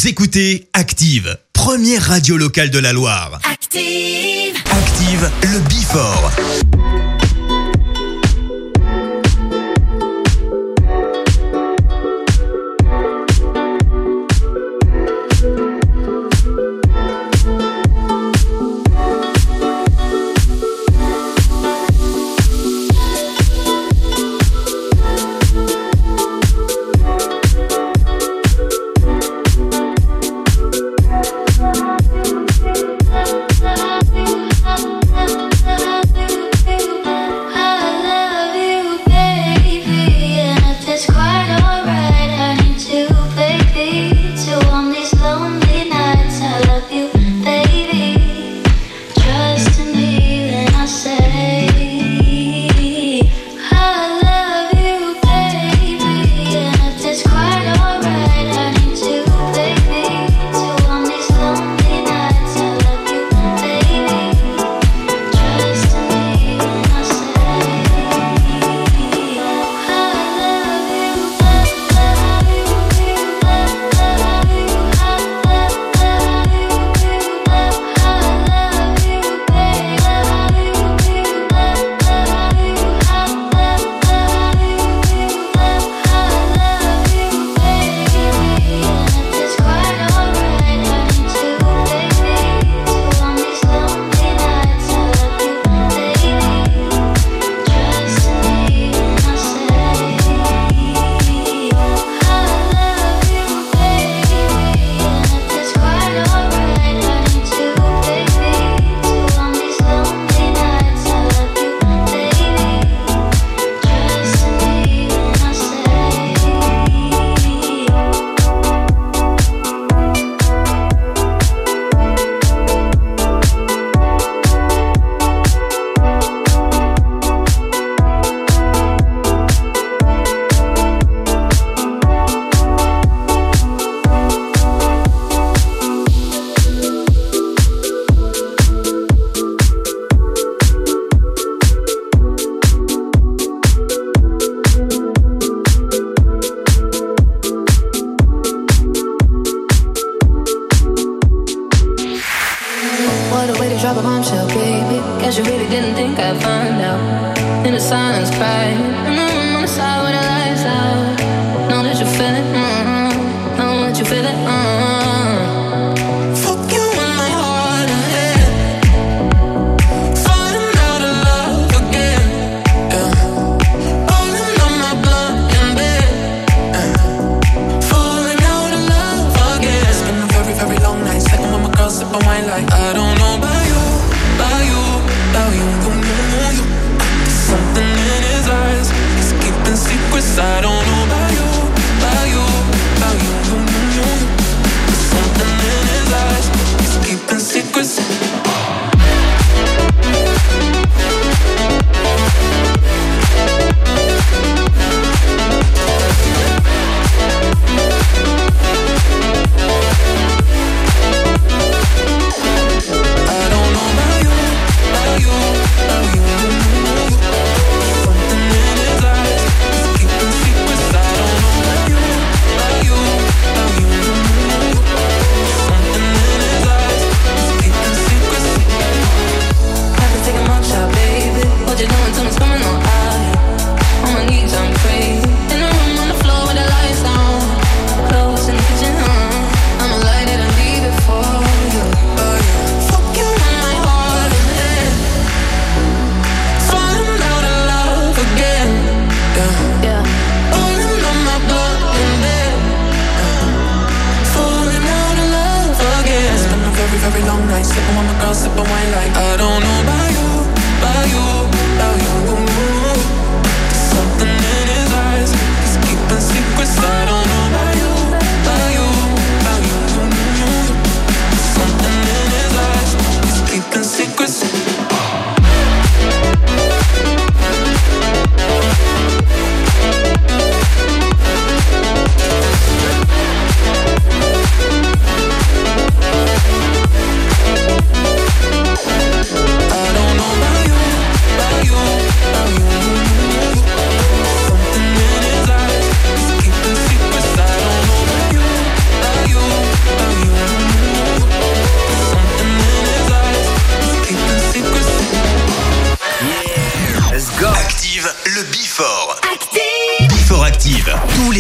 Vous écoutez Active, première radio locale de la Loire. Active, Active, le Before.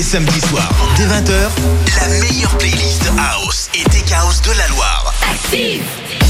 samedis soirs, dès 20h, la meilleure playlist House et Tech House de la Loire. Active!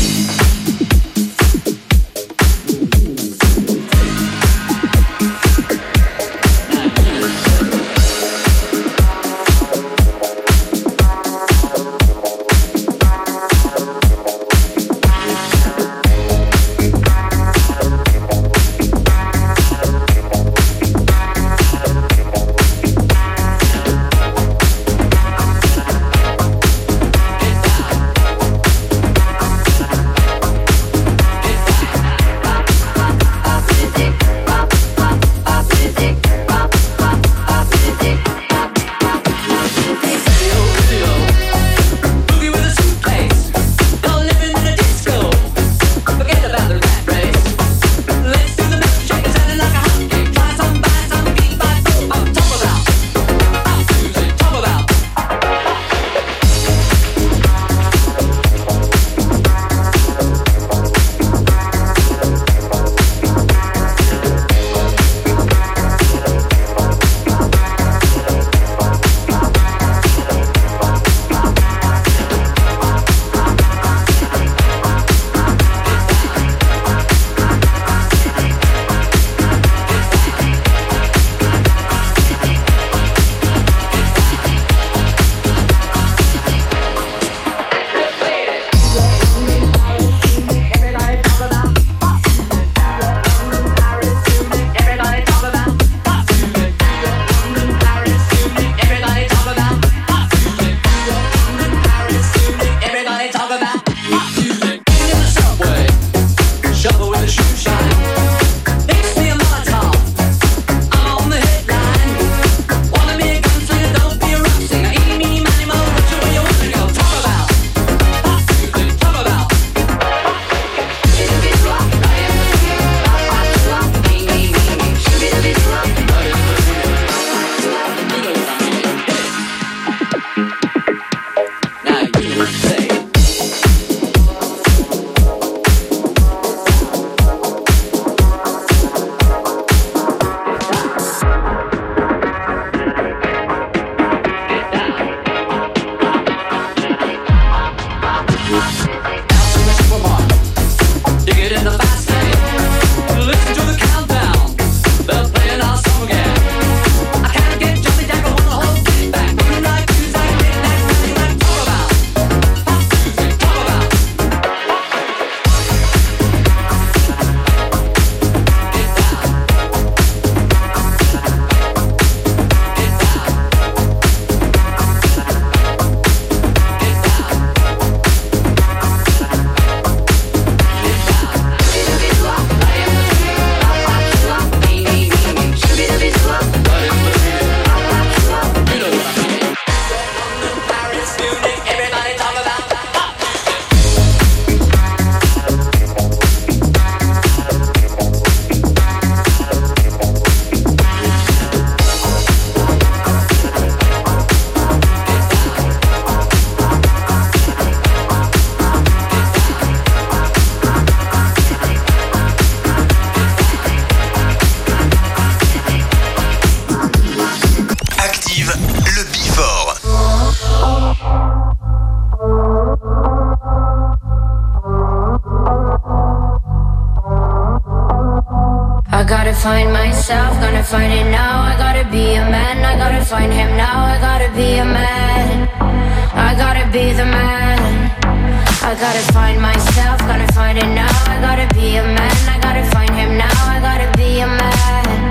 Find myself, gonna find it now. I gotta be a man, I gotta find him now. I gotta be a man, I gotta be the man. I gotta find myself, gonna find it now. I gotta be a man, I gotta find him now. I gotta be a man,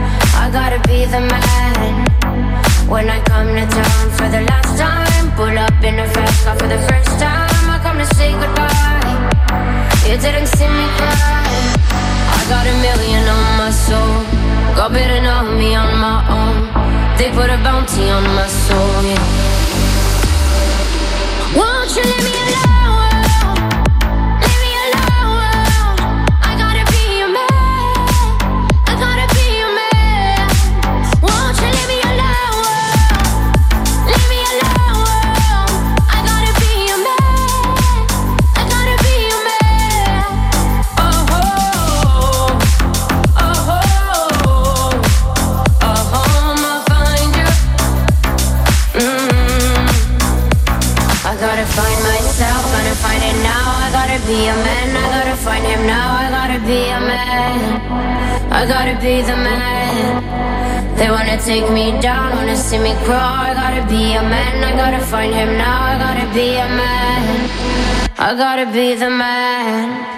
I gotta be the man. When I come to town for the last time, pull up in a fast car for the first time. I come to say goodbye, you didn't see me cry. I got $1 million on my soul, God better know me on my own. They put a bounty on my soul, yeah. Won't you leave me alone? Leave me alone. I gotta be a man, I gotta be a man. Won't you leave me alone? Leave me alone. I gotta be a man, I gotta be a man. Oh, oh, oh, oh, oh, I'ma find you. gotta find myself, gonna find it now. I gotta be a man, I gotta find him now. I gotta be a man, I gotta be the man. They wanna take me down, wanna see me crawl. I gotta be a man, I gotta find him now. I gotta be a man, I gotta be the man.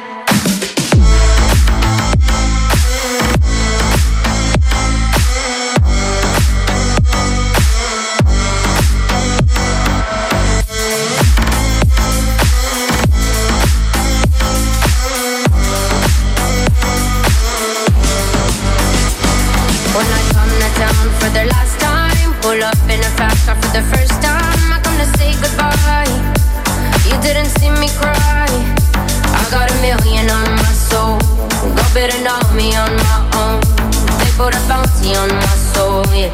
For the last time, pull up in a fast car for the first time. I come to say goodbye. You didn't see me cry. I got $1 million on my soul. Go better know me on my own. They put a bounty on my soul, yeah.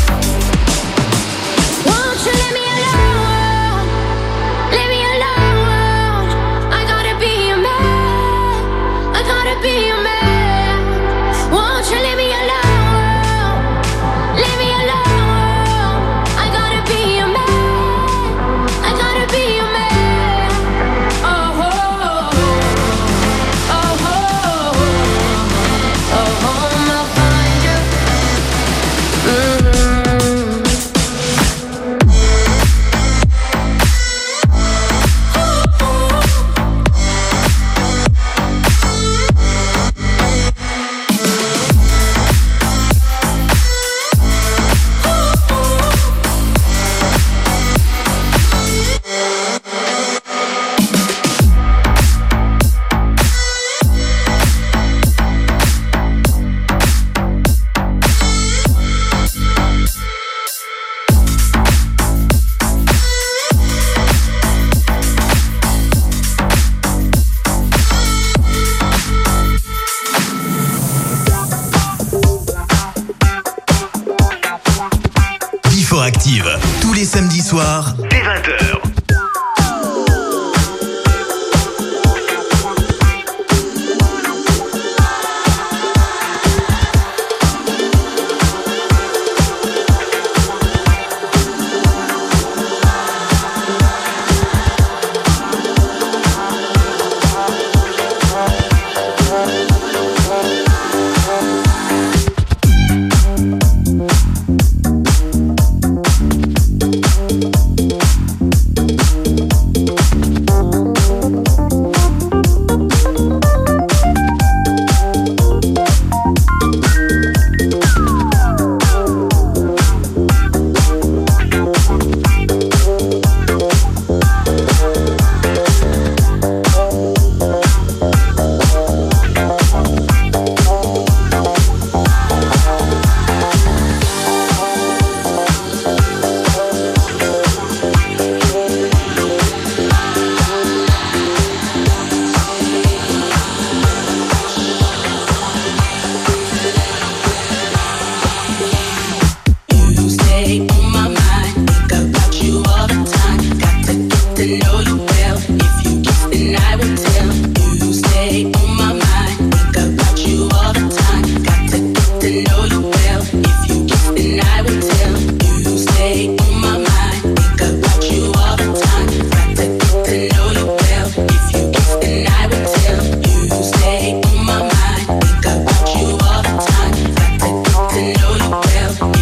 Won't you let me alone? Let me alone. I gotta be a man. I gotta be a man. Won't you let me alone? Leave me alone. I gotta be a man. I gotta be a man. Oh, oh, oh, oh, oh, I'll find you. Active, tous les samedis soirs, dès 20h.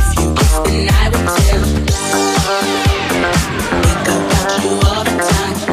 Time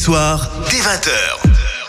soirs, dès 20h.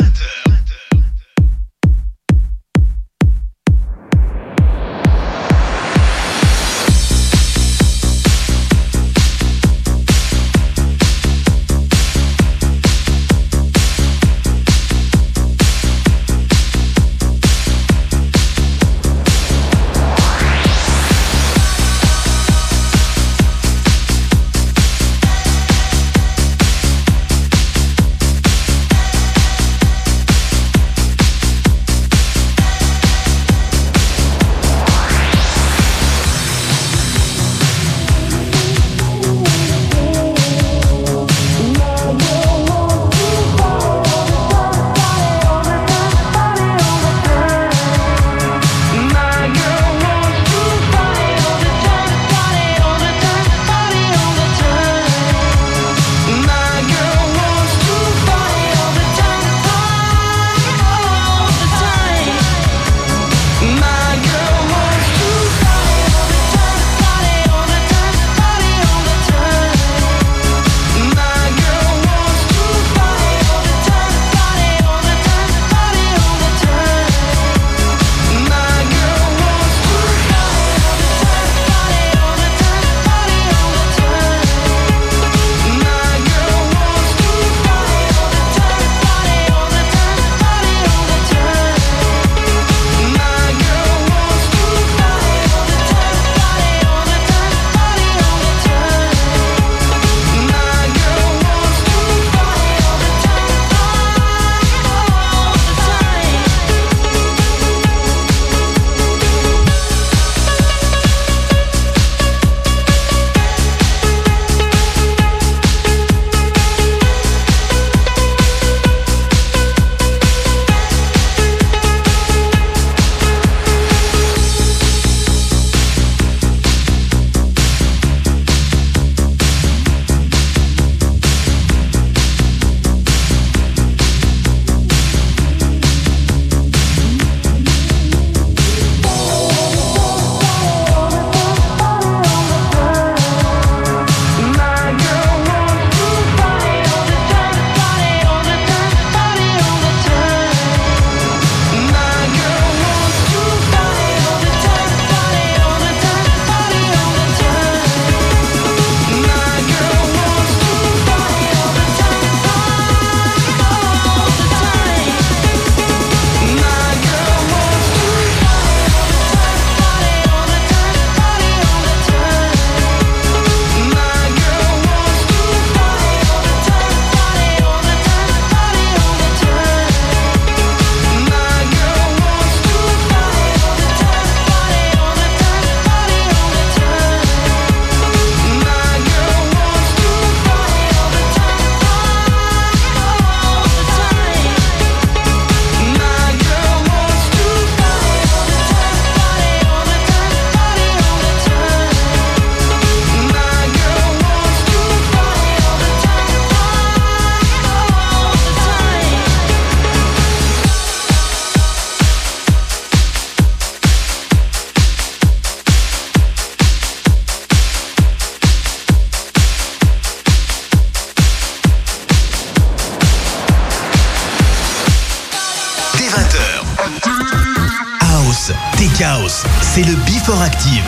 House, c'est le Before Active.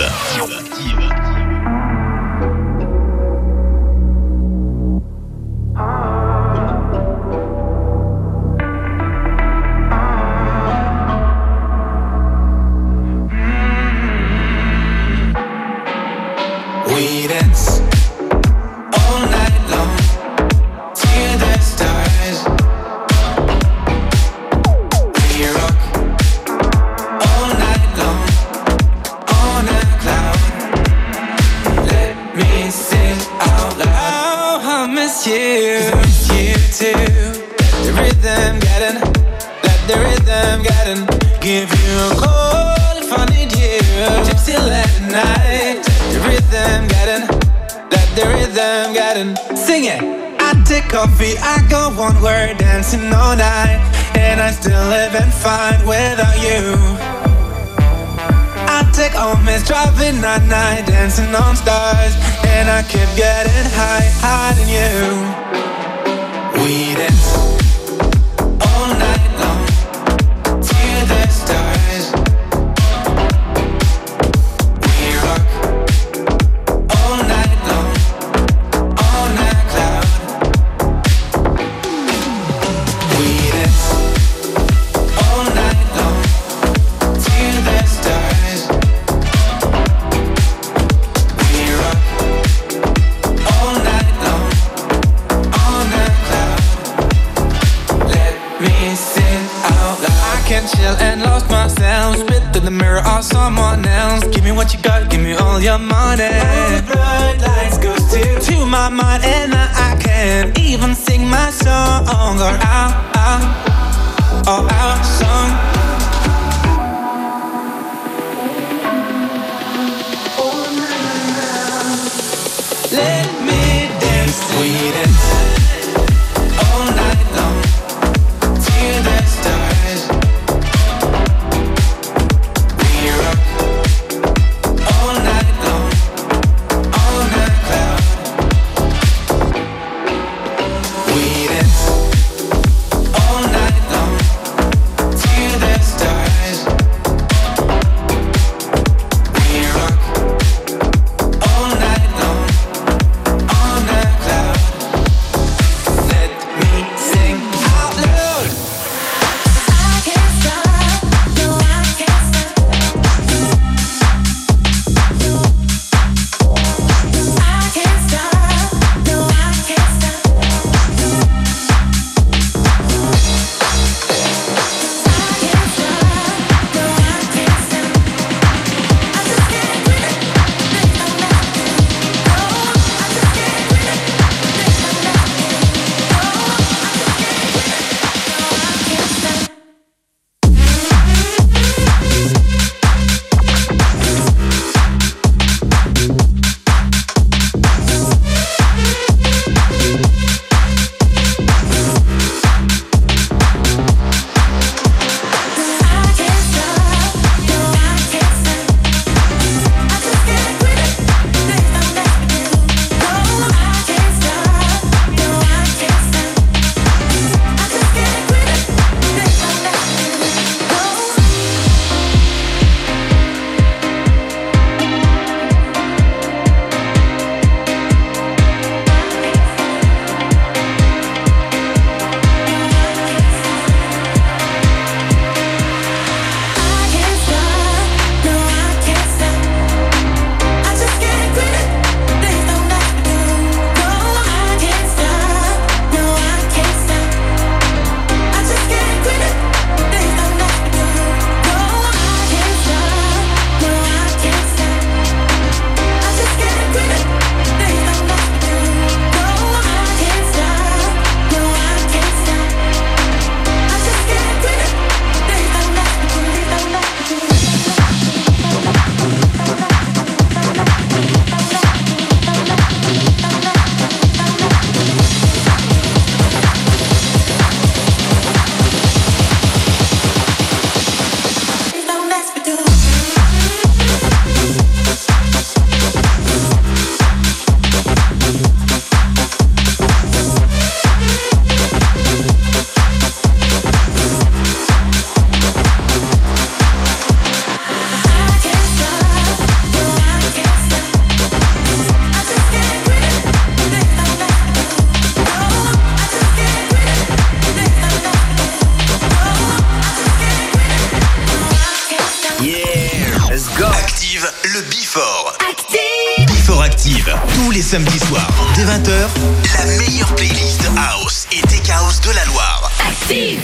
We dance all night long till the stars. We rock all night long on a cloud. Let me sing out loud. Oh, I miss you. 'Cause I miss you too. Let the rhythm get in. Let the rhythm get in. Give you a call if I need you. Gypsy late night. The rhythm getting, let the rhythm getting. Sing it. I take coffee, I go one word, dancing all night, and I still living fine without you. I take home, miss driving at night, dancing on stars, and I keep getting high, higher than you. We dance all night long till the stars. We rock all night long on a cloud. We dance all night long till the stars. We rock all night long on a cloud. Let me sing out loud. I can't chill and lost myself. Spit through the mirror or someone else. Give me what you got, give me all your money. All the bright lights go to my mind, and I can't even sing my song or our song. Let me dance, we dance all night long till the stars. We rock all night long on a cloud. We dance all night long till the stars. We rock all night long on a cloud. Let me sing out loud. I can't stop, no I can't stop. I can't stop, no I can't stop. I can't stop, no I can't stop. I just can't quit it. There's no left to go. I just can't quit it. There's no left to go. I just can't quit it. No I can't stop. le Before. Before Active, tous les samedis soirs, dès 20h, la meilleure playlist House et Tech House de la Loire. Active.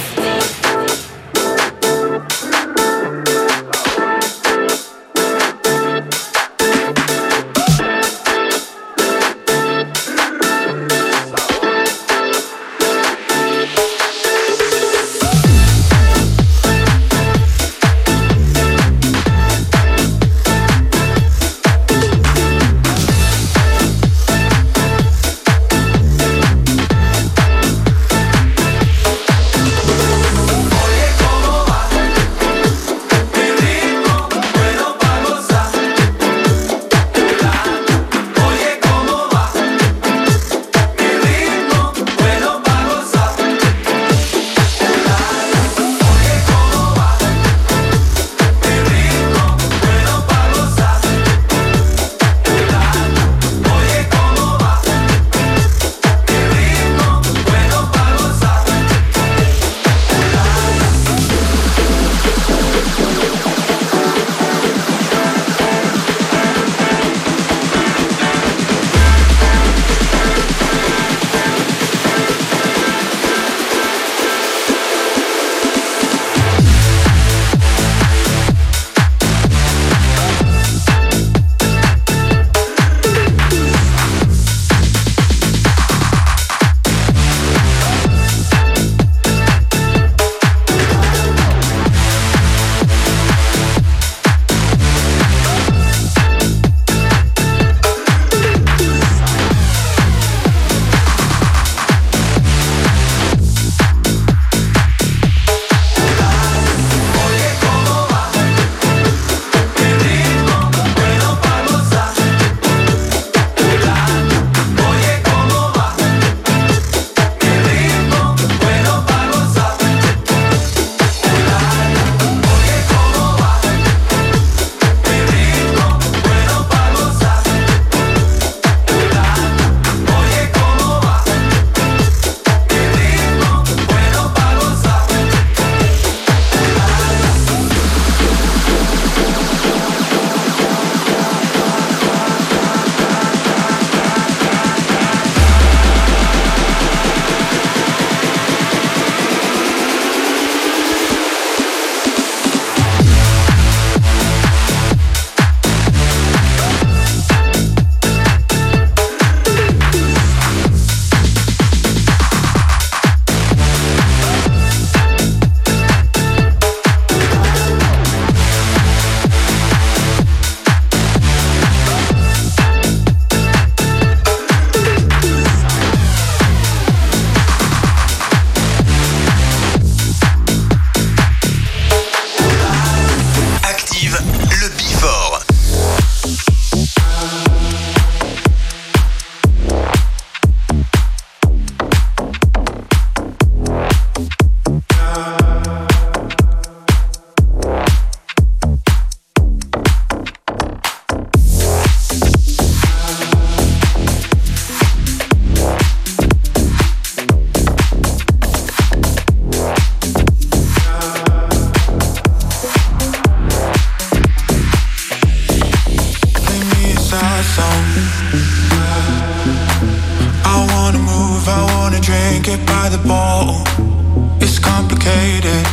motivated.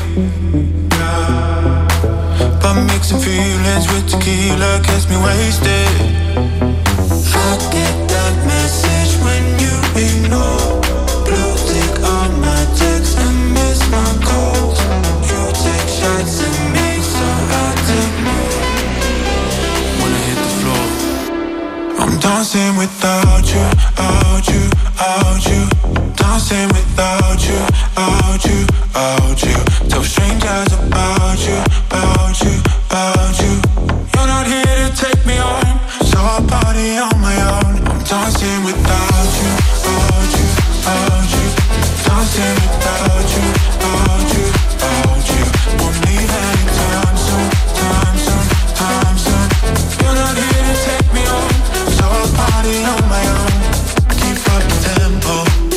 But mixing feelings with tequila gets me wasted. I get that message when you ignore. Blue tick on my text and miss my calls. You take shots at me, so I take more. When I hit the floor, I'm dancing without you, out you, out you. Dancing without you, out you, out you. Tell strangers about you, about you, about you. You're not here to take me home, so I'll party on my own. I'm dancing without you, out you, out you. Dancing without you, out you, out you. Won't leave anytime soon, time soon, time soon. You're not here to take me home, so I'll party on my own. Keep up the tempo.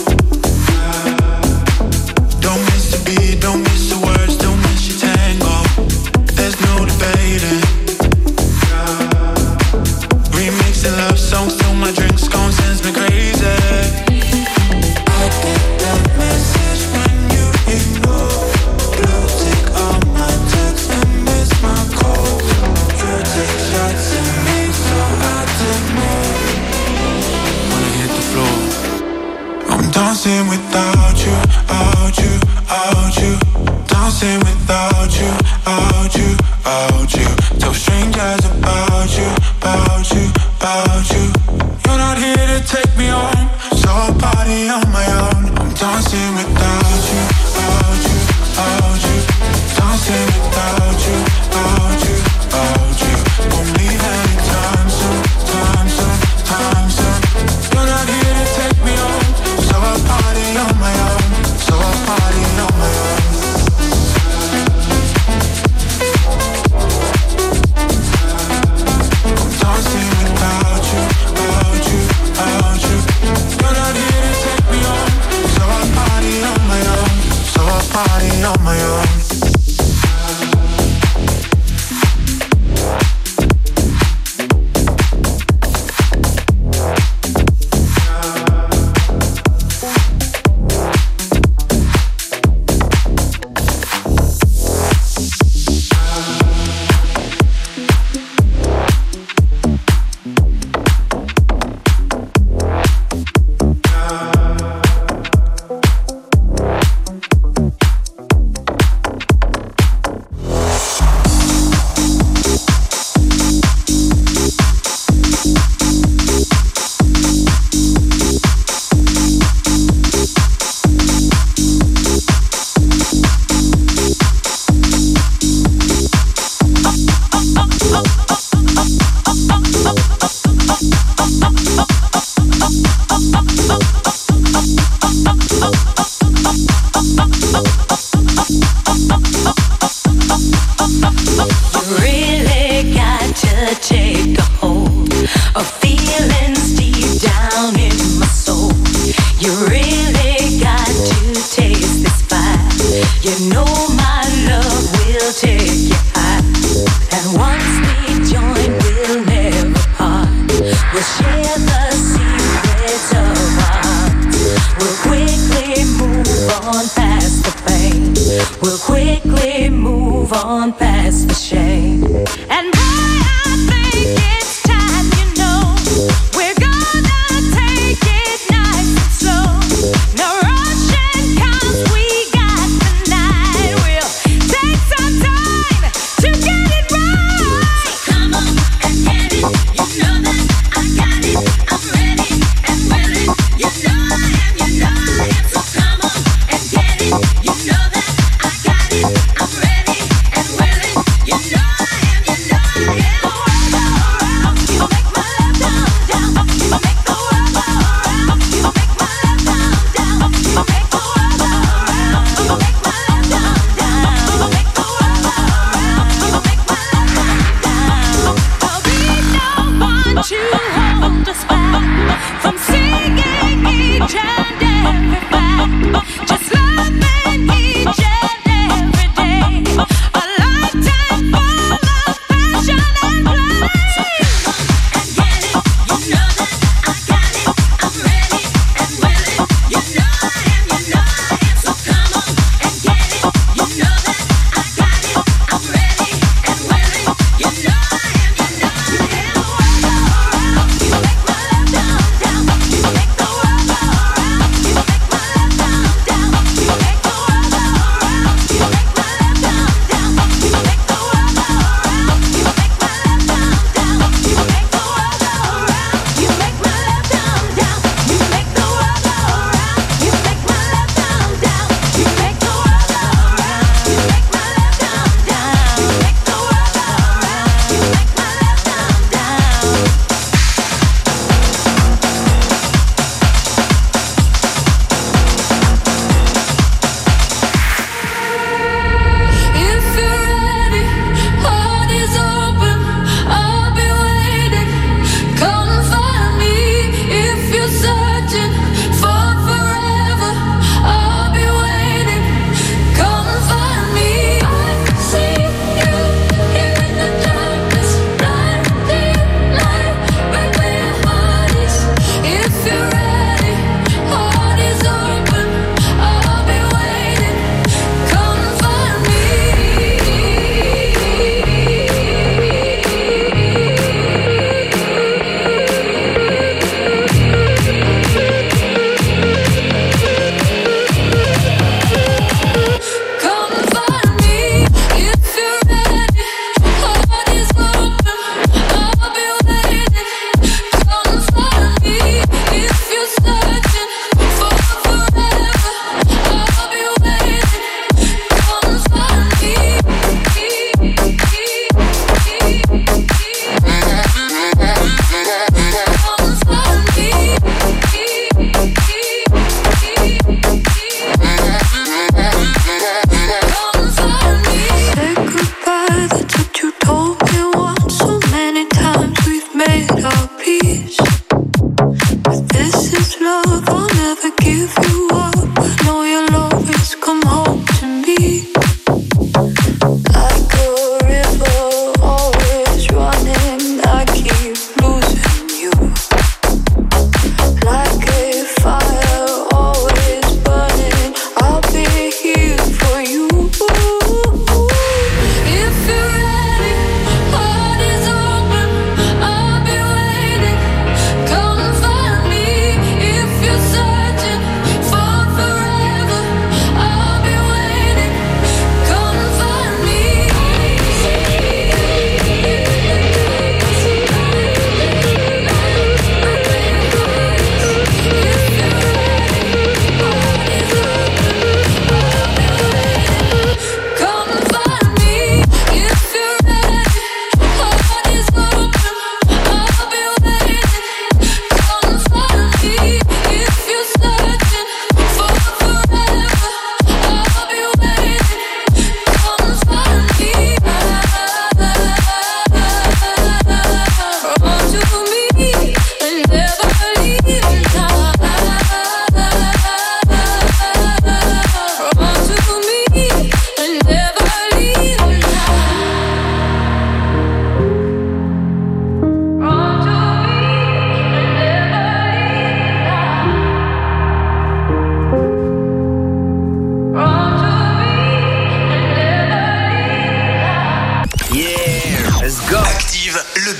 Don't miss the beat, don't miss the words, don't miss your tango. There's no debating. Remixing love songs till my drink's gone, sends me crazy. I get that message when you ignore. Blue tick on my text and miss my call. You take shots at me, so I take more. When I hit the floor, I'm dancing without you, out you, out you. Dancing without you, out you, out you. Tell strangers about you, about you, about you. You're not here to take me home, so I'll party on my own. I'm dancing without you, out you, out you. Dancing without you, out you, out you. Won't leave anytime soon, time soon, time soon. You're not here to take me home, so I'll party on my own, so I'll party on my own. I'm dancing without you, out you, out you. You're not here to take me home, so I'll party on my own, so I'll party on my own. You know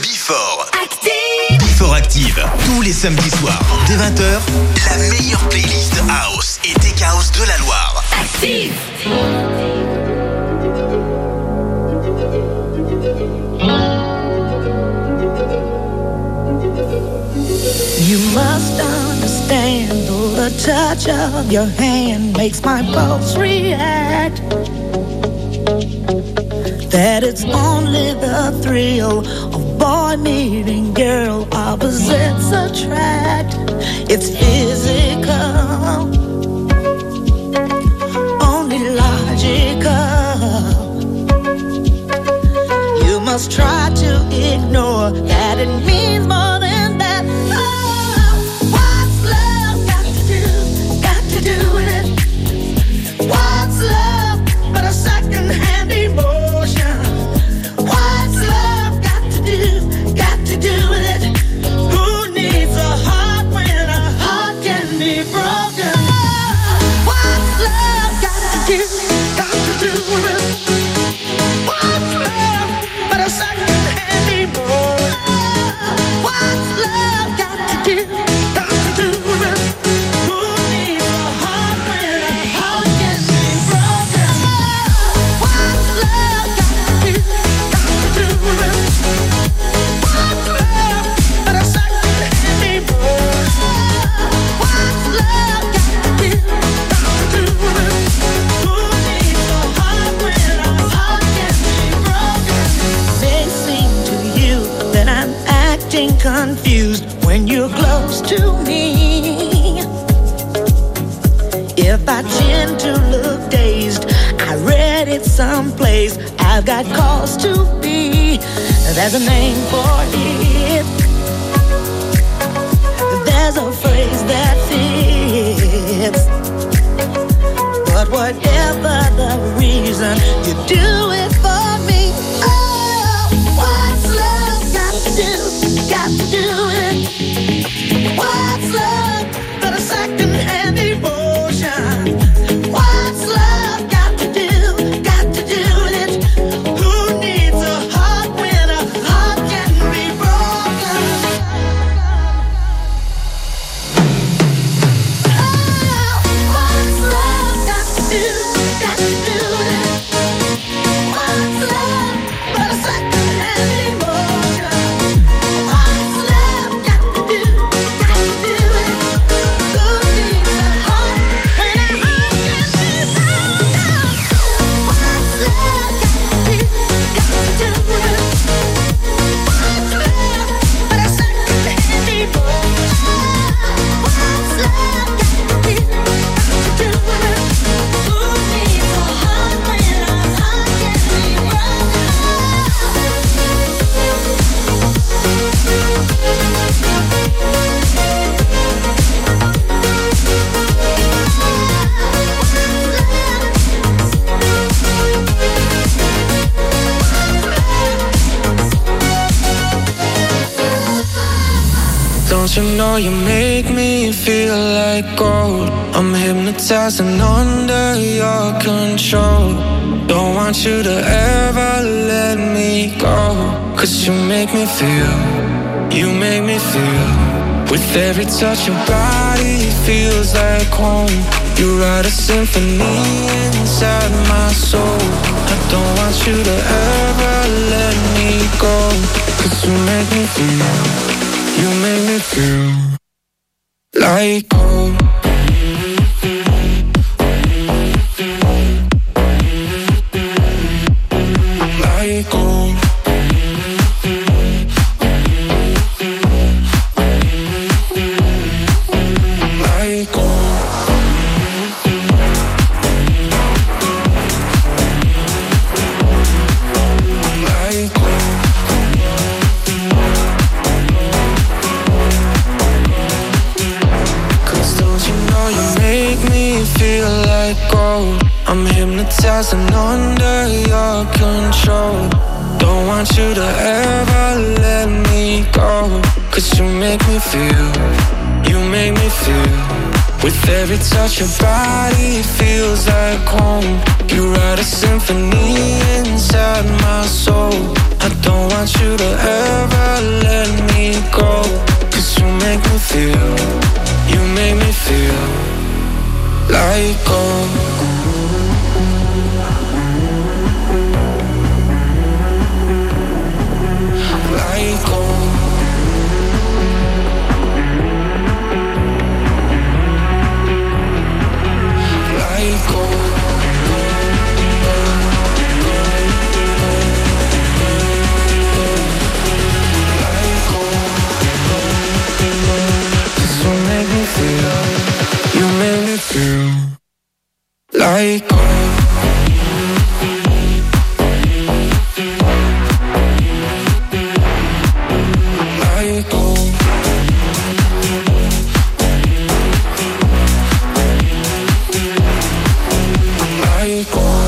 Before. Active. Before Active. Tous les samedis soirs, dès 20h, la meilleure playlist House et Tech House de la Loire. Active. You must understand, though the touch of your hand makes my pulse react, that it's only the thrill of boy meeting girl, opposites attract. It's physical, only logical. You must try to ignore that it means more than that. Oh, what's love got to do with it? What's love but a second-hand emotion? What's love got to do with it? Who needs a heart when a heart can be broken? What's love got to do with it? What's love but a second-hand emotion? What's love got to do with it? Who needs a heart when a heart can be broken? What's love got to do with it? What's love but a second-hand emotion? What's love got to do with it? Who needs a heart when a heart can be broken? May seem to you that I'm acting confused when you're close to me. If I tend to look dazed, I read it someplace. I've got cause to be. There's a name for it. There's a phrase that fits. But whatever the reason, you do it for me. Oh, what's love got to do with it? What's love but a second-hand emotion? What's love got to do with it? Who needs a heart when a heart can be broken? Oh, what's love got to do with it? What's love but a second-hand emotion? What's love got to do with it? Who needs a heart when a heart can be broken? What's love got to do with it? What's love but a second-hand emotion? What's love got to do with it? Who needs a heart when a heart can be broken? Don't you know you make me feel like gold? I'm hypnotized and under your control. Don't want you to ever let me go. 'Cause you make me feel. With every touch your body feels like home. You write a symphony inside my soul. I don't want you to ever let me go. 'Cause you make me feel like home. Like home. Like home. Like home. Feel like gold. I'm hypnotized and under your control. Don't want you to ever let me go. 'Cause you make me feel. With every touch your body feels like home. You write a symphony inside my soul. I don't want you to ever go. 'Cause you make me feel like gold. Like gold. Like gold. You make me feel like gold. Like gold. Like gold.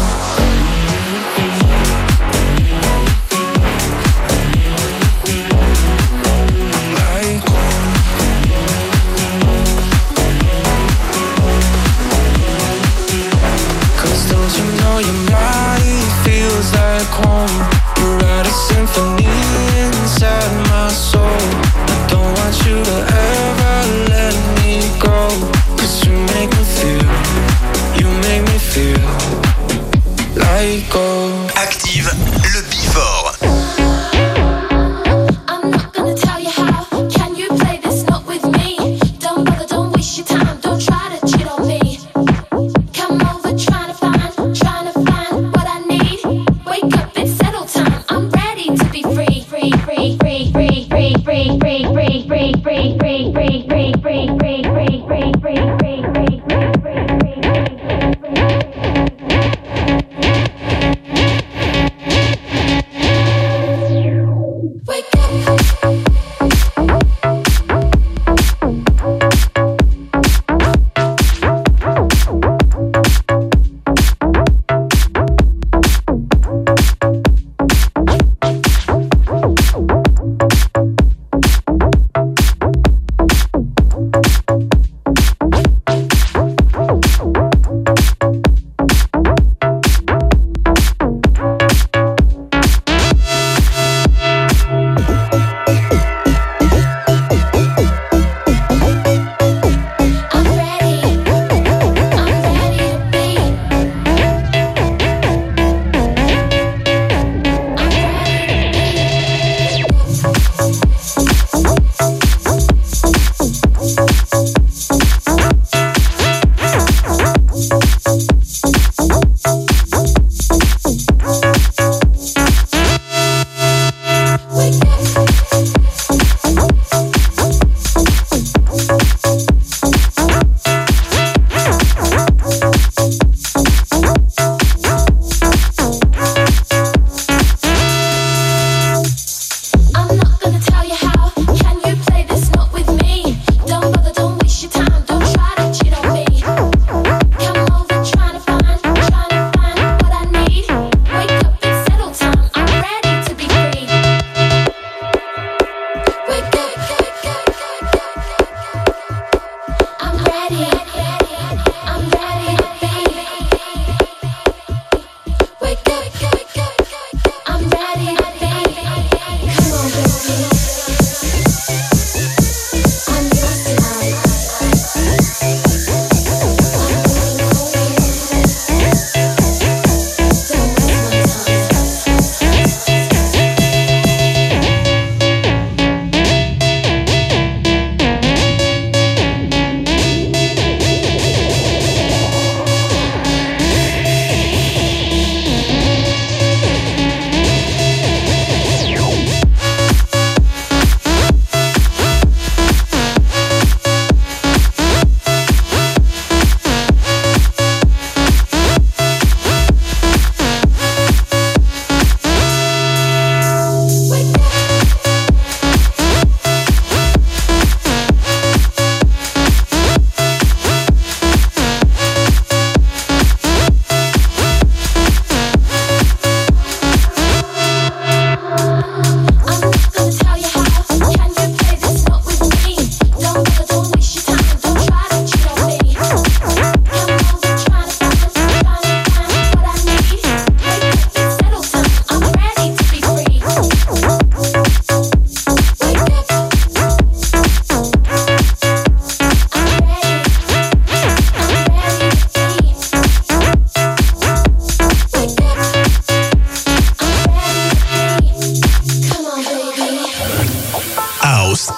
Home. You write a symphony inside my soul. I don't want you to ever let me go. 'Cause you make me feel like gold. Active le Before.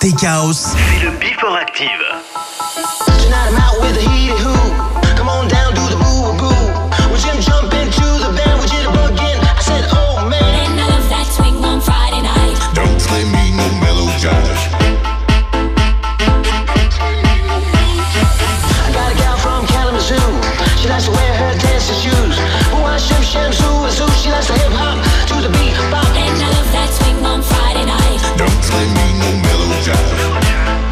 Tech House, c'est le Before Active. Tonight I'm out with a heated who. Come on down, do the boo boo. Would you jump into the band? Would you bugin'? I said, oh man. And I love that swing on Friday night. Don't play me no mellow jive. I got a gal from Kalamazoo. She likes to wear her dancing shoes. But why shim sham zoo? She likes to hip hop to the beat bop. And I love that swing on Friday night. Don't play me no mellow jive.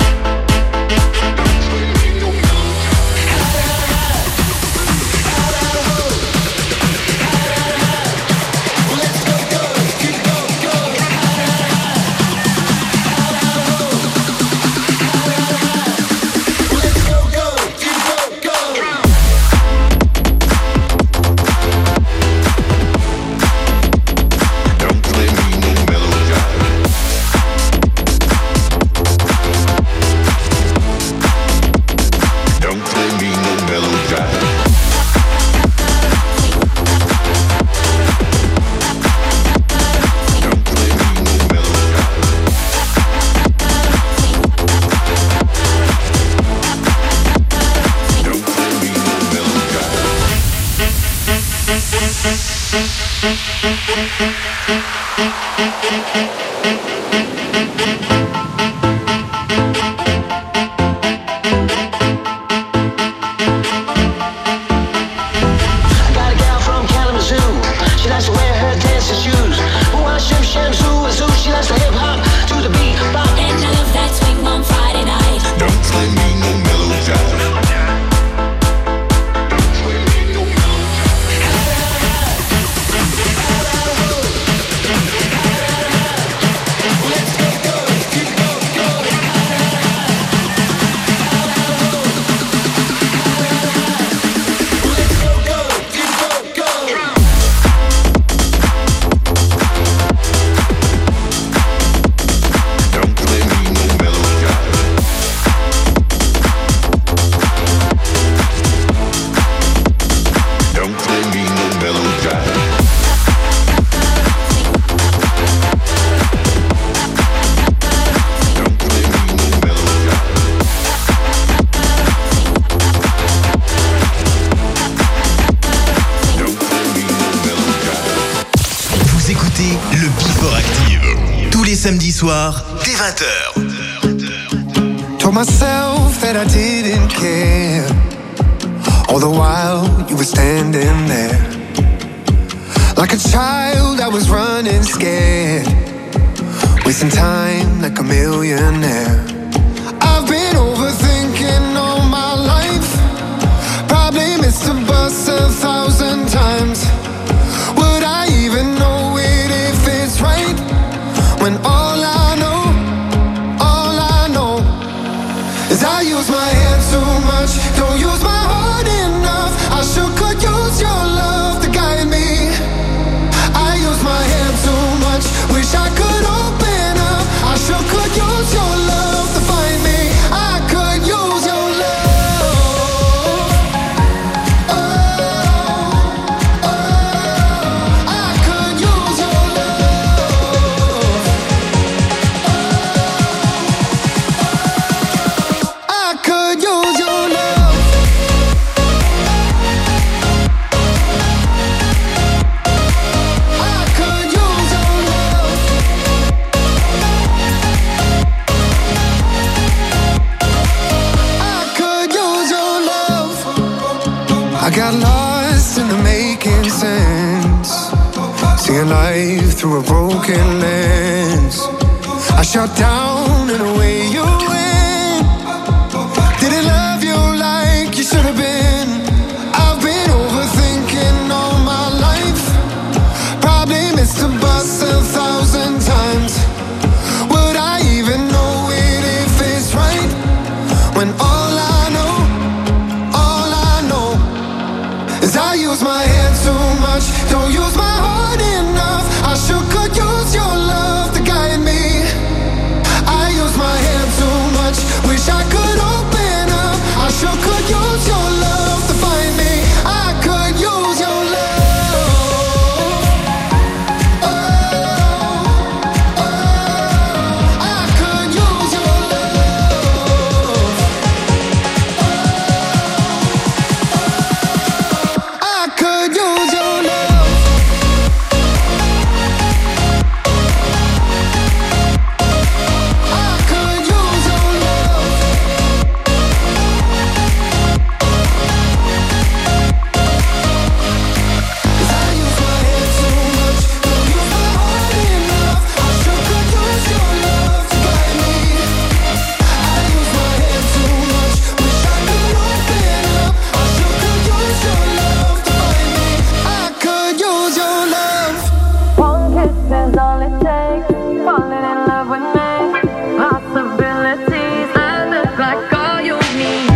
Samedi soir, dès 20h. Told myself that I didn't care. All the while you were standing there. Like a child I was running scared. Wasting time like a millionaire. I've been overthinking all my life. Probably missed a bus 1,000 times. Would I even know it if it's right? When all I know is I use my head too much, don't use my heart enough. I sure could use your love to guide me. I use my head too much, wish I could open up. I sure could use your love to find me. I could use your love. Oh, I could use your love. I could use your love. I could use your love. I could use your love. I got lost in the making sense, seeing life through a broken lens. I shut down and away you went. Didn't love you like you should have been. I've been overthinking all my life. Probably missed a bus 1,000 times. Would I even know it if it's right? When all I know is I use my head too much, don't use my heart enough. I sure could use your love to guide me. I use my head too much, wish I could open up. I sure could use your love to find me. I could use your love. Oh, I could use your love. is all it takes. Falling in love with me. Possibilities. I look like all you need.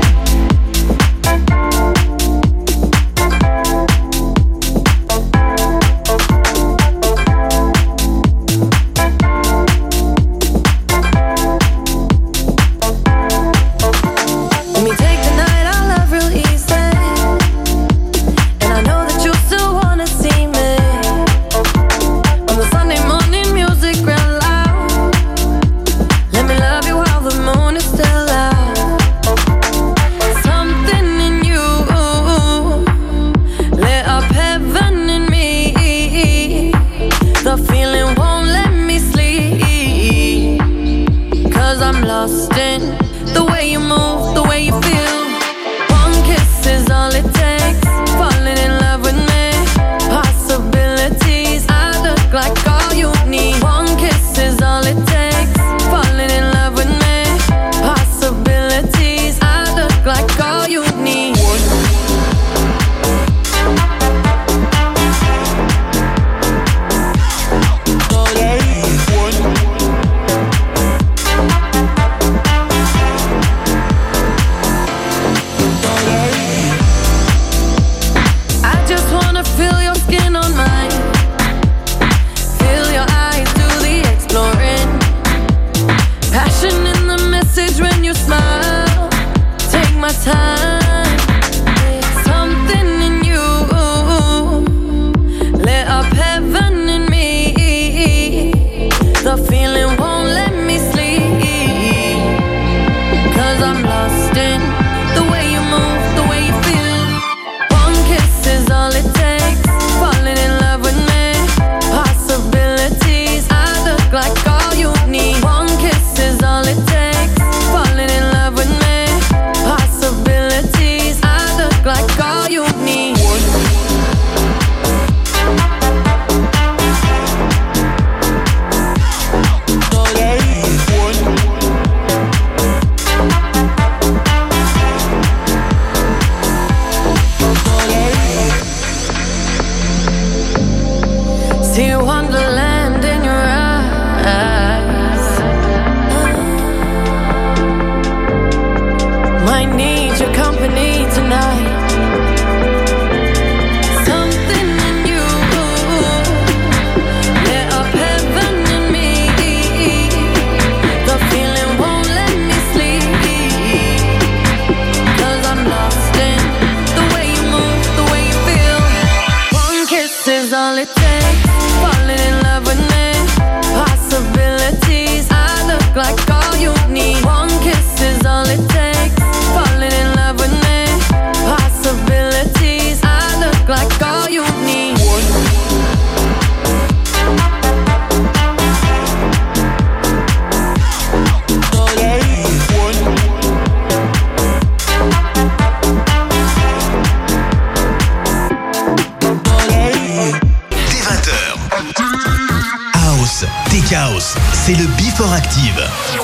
C'est le Before Active.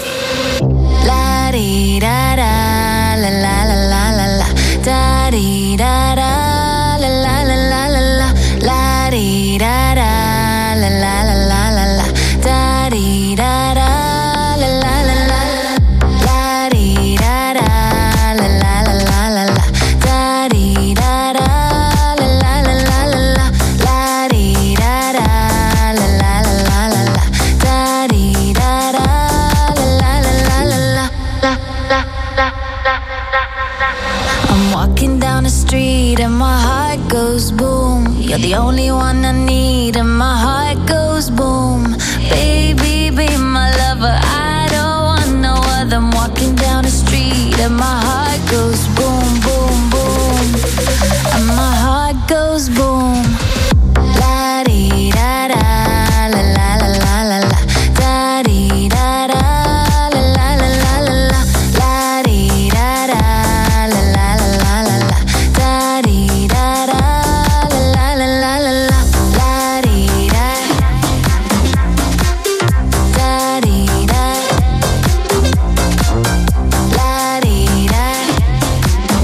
La di da da la la la la la la da di da da la la la la la la la di da da la la la la la la da di da da la la la la la di da da la la la la la la da di da da la la la la la la la di da da la la la la la la da di da da la la la la la la. I'm walking down the street and my heart goes boom. You're the only one I need and my heart goes boom. Baby, be my lover, I don't want no other. I'm walking down the street and my heart goes boom, boom, boom. And my heart goes boom. La di da da la la la la la la da di da da la la la la la la la di da da la la la la la la da di da da la la la la la la la di da da di da la di da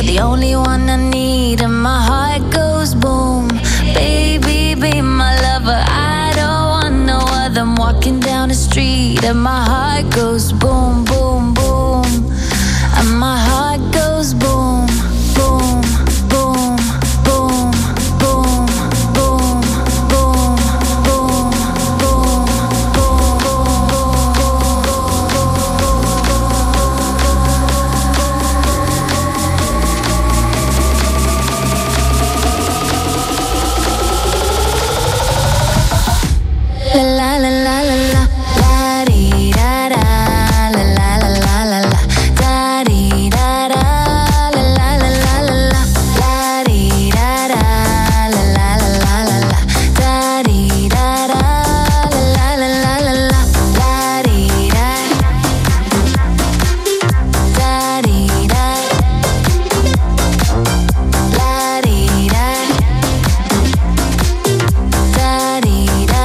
You're the only one I need, and my heart goes boom. Baby, be my lover, I don't want no other. I'm walking down the street, and my heart goes boom, boom, boom. And my heart goes boom, boom, boom, boom, boom, boom, boom, boom, boom, La la la la la la di da da la la la la la la da di da da la la la la la la la di da da la la la la la la da di da da la la la la la la di da da di da la di da da di da.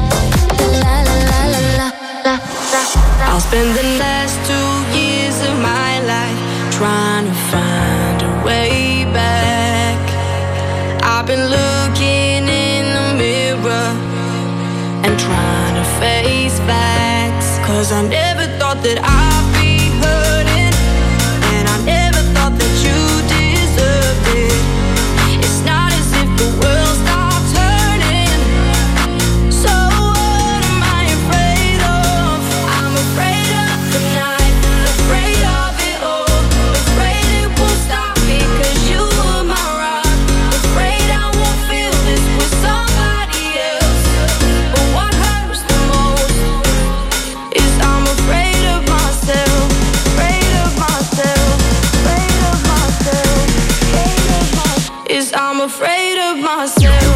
I'll spend the last 2 years of my life trying to find a way back. I've been looking in the mirror and trying to face facts. 'Cause I never thought that I'd be hurting, and I never thought that you deserved it. It's not as if the world stopped turning. So what am I afraid of? I'm afraid of the night, afraid of it all, afraid it won't stop because you were my rock, afraid I won't feel this with somebody else. But what hurts the most is I'm afraid of myself, afraid of myself, afraid of myself, afraid of myself. Is I'm afraid of myself.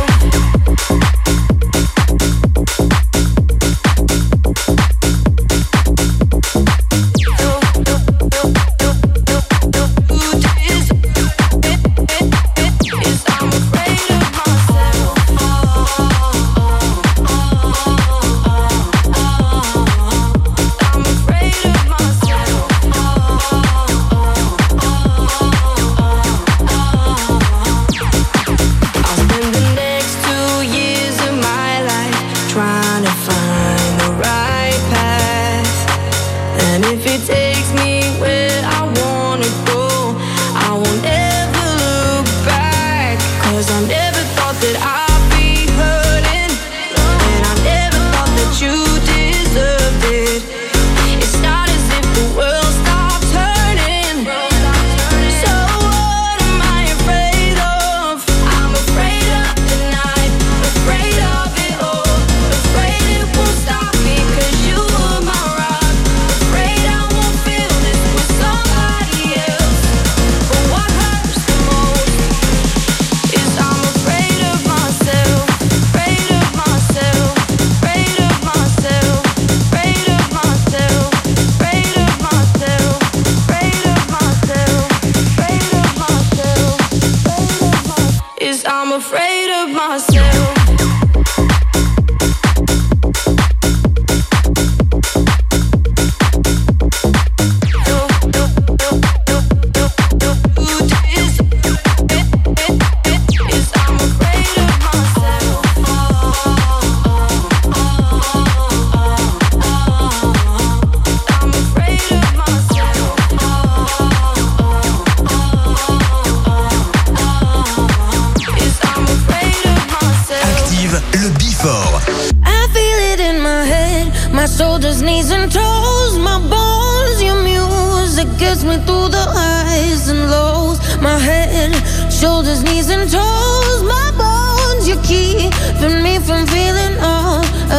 shoulders, knees and toes, my bones, your music gets me through the highs and lows. My head, shoulders, knees and toes, my bones, you're keeping me from feeling all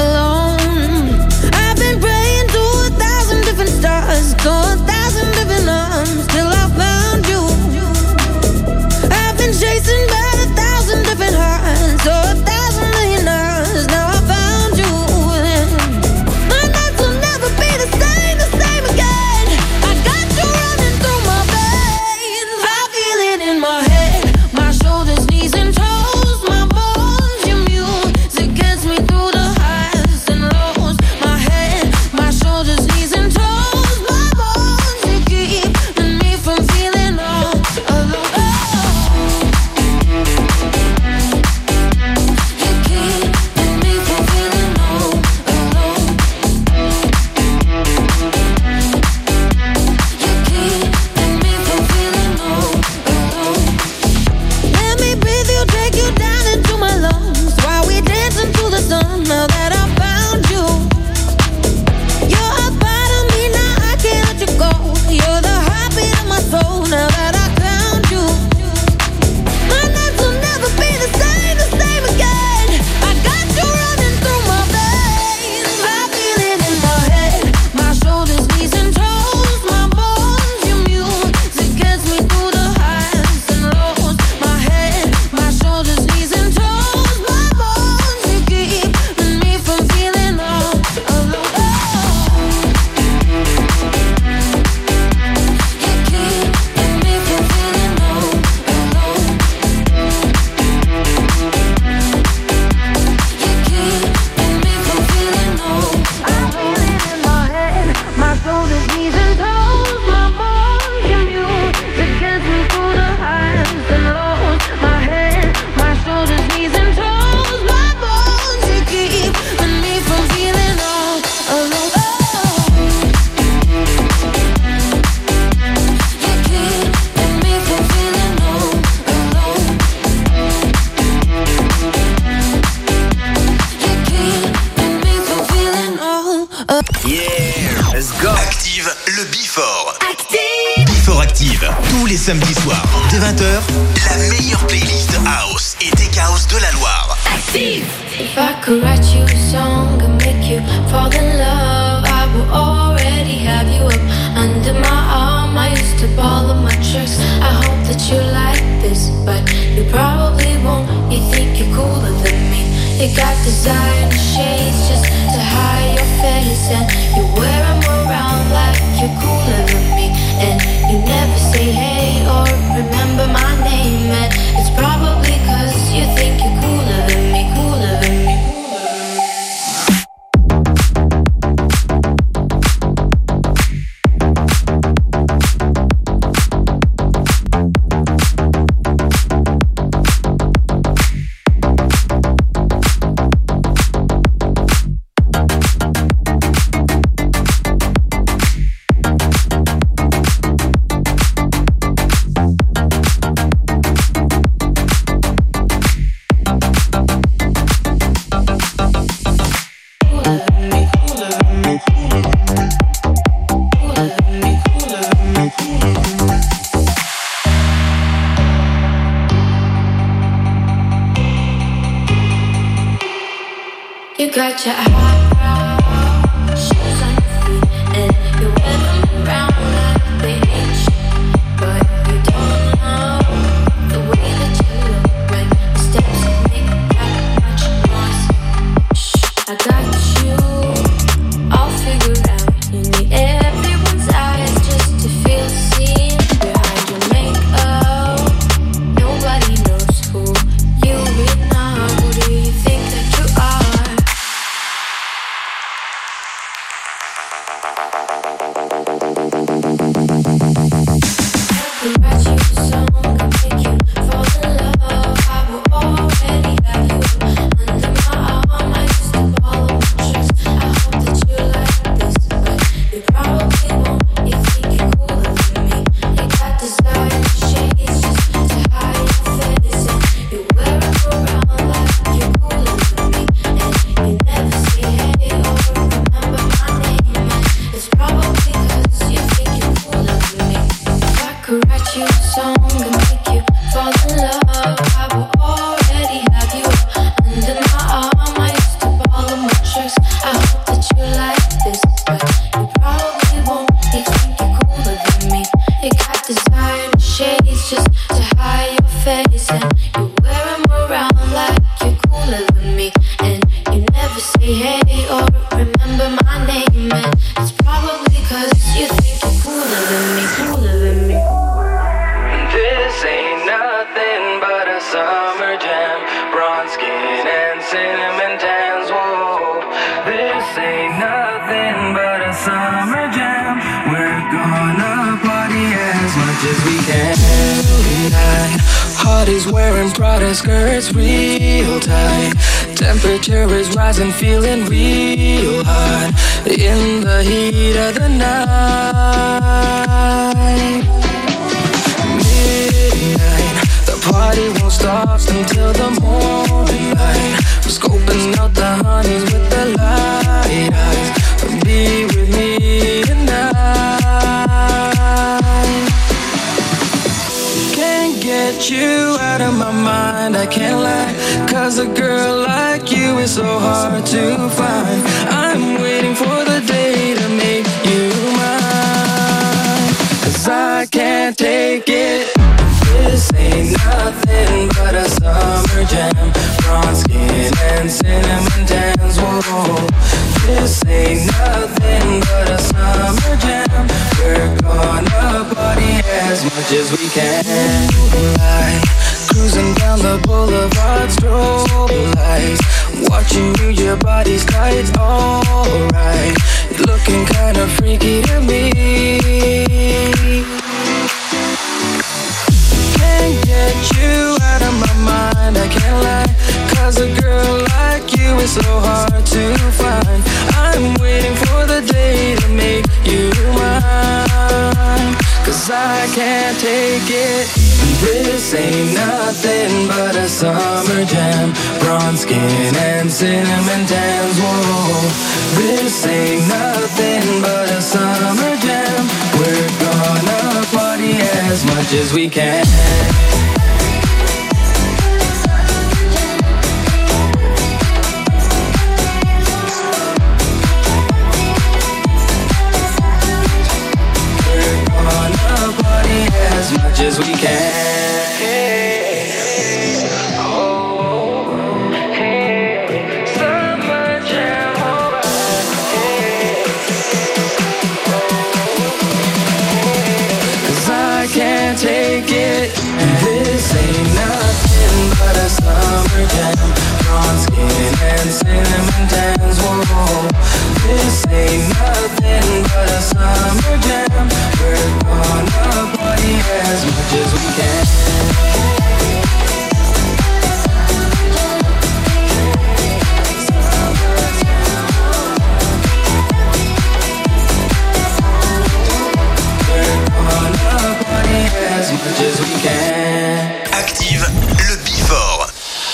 alone. I've been praying to 1,000 different stars, to 1,000 different arms, till I found you. I've been chasing by 1,000 different hearts, so 1,000 million hours, now I found you. My nights will never be the same again. I got you running through my veins. I feel it in my head, my shoulders, knees and toes, my bones, your music gets Active, le Before. Active. Before Active, tous les samedis soirs, dès 20h, la meilleure playlist house et tech house de la Loire. Active. If I could write you a song and make you fall in love, I would already have you up under my arm. I used to ball up my tricks. I hope that you like this, but you probably won't. You think you're cooler than me. You got designer shades just to hide your face, and you wear them around like you're cooler than me. And you never say hey or remember my name, and it's probably 'cause you think you're cooler than me, cooler than me. You got your high shoes on your feet, and you wear them around like they ain't shit. But you don't know the way that you look when the steps make that much noise. Shh, I got you all figured out. You need everyone's eyes just to feel seen behind your makeup. Nobody knows who you really are. Who do you think that you are? Skirts real tight. Temperature is rising, feeling real hot in the heat of the night. Midnight, the party won't stop until the morning light. We're scoping out the honeys with the light eyes. Be with me tonight. Can't get you out of my mind, I can't lie. 'Cause a girl like you is so hard to find. I'm waiting for the day to make you mine. 'Cause I can't take it. This ain't nothing but a summer jam. Bronze skin and cinnamon tans, whoa. This ain't nothing but a summer jam. We're gonna party as much as we can. Like cruising down the boulevard, strobe lights. Watching you, your body's tight, alright. You're looking kinda freaky to me. Can't get you out of my mind, I can't lie. 'Cause a girl like you is so hard to find. I'm waiting for the day to make you mine. 'Cause 'cause I can't take it. This ain't nothing but a summer jam. Bronze skin and cinnamon tans, whoa. This ain't nothing but a summer jam. We're gonna party as much as we can. As much as we can. Oh, hey, summer jam, hey. 'Cause I can't take it. This ain't nothing but a summer jam. Bronze skin and cinnamon tans, whoa. This ain't nothing but a summer jam. We're gonna party as much as we can. We're gonna party as much as we can. Active le Before.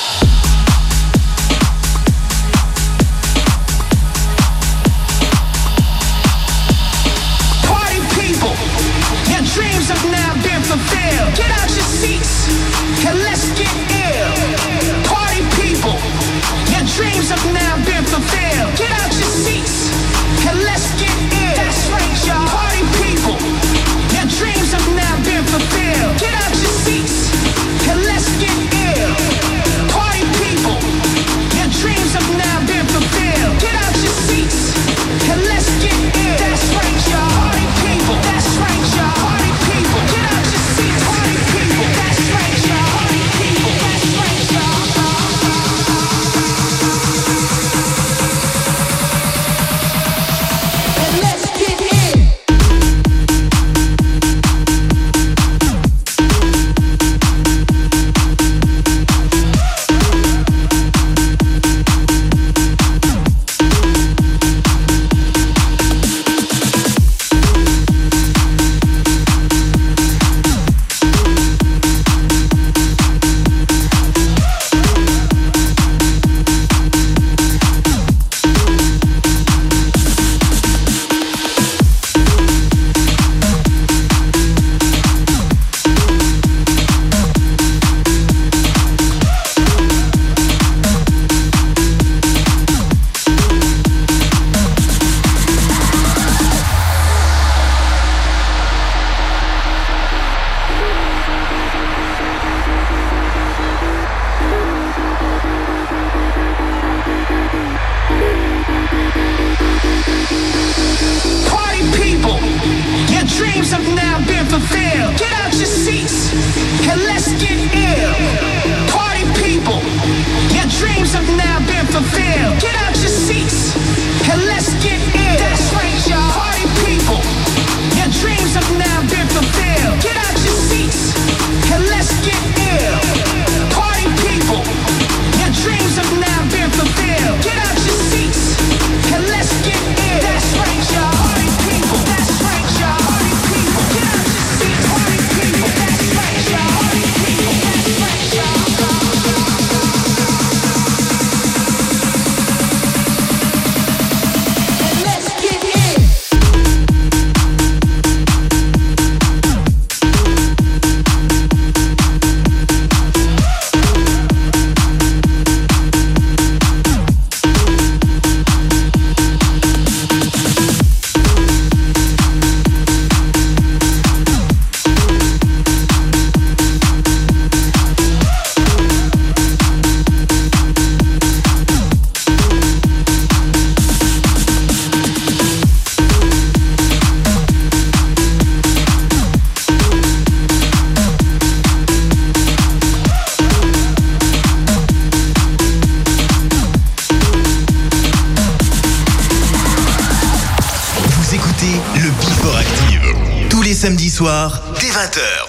Dreams have now been fulfilled. Get out your seats and let's get ill. Party people, your dreams have now been fulfilled. Get out your seats and let's get ill. That's right, y'all. Party people, your dreams have now been fulfilled. Get out your seats and let's get ill. Party people, your dreams have now been fulfilled. Get out your seats and let's get ill. That's right, y'all. Party people, that's right, y'all. Party people, get out your seats. Party people, that's right, y'all. Party people, that's right, y'all. And let's get in. Samedi soir, dès 20h.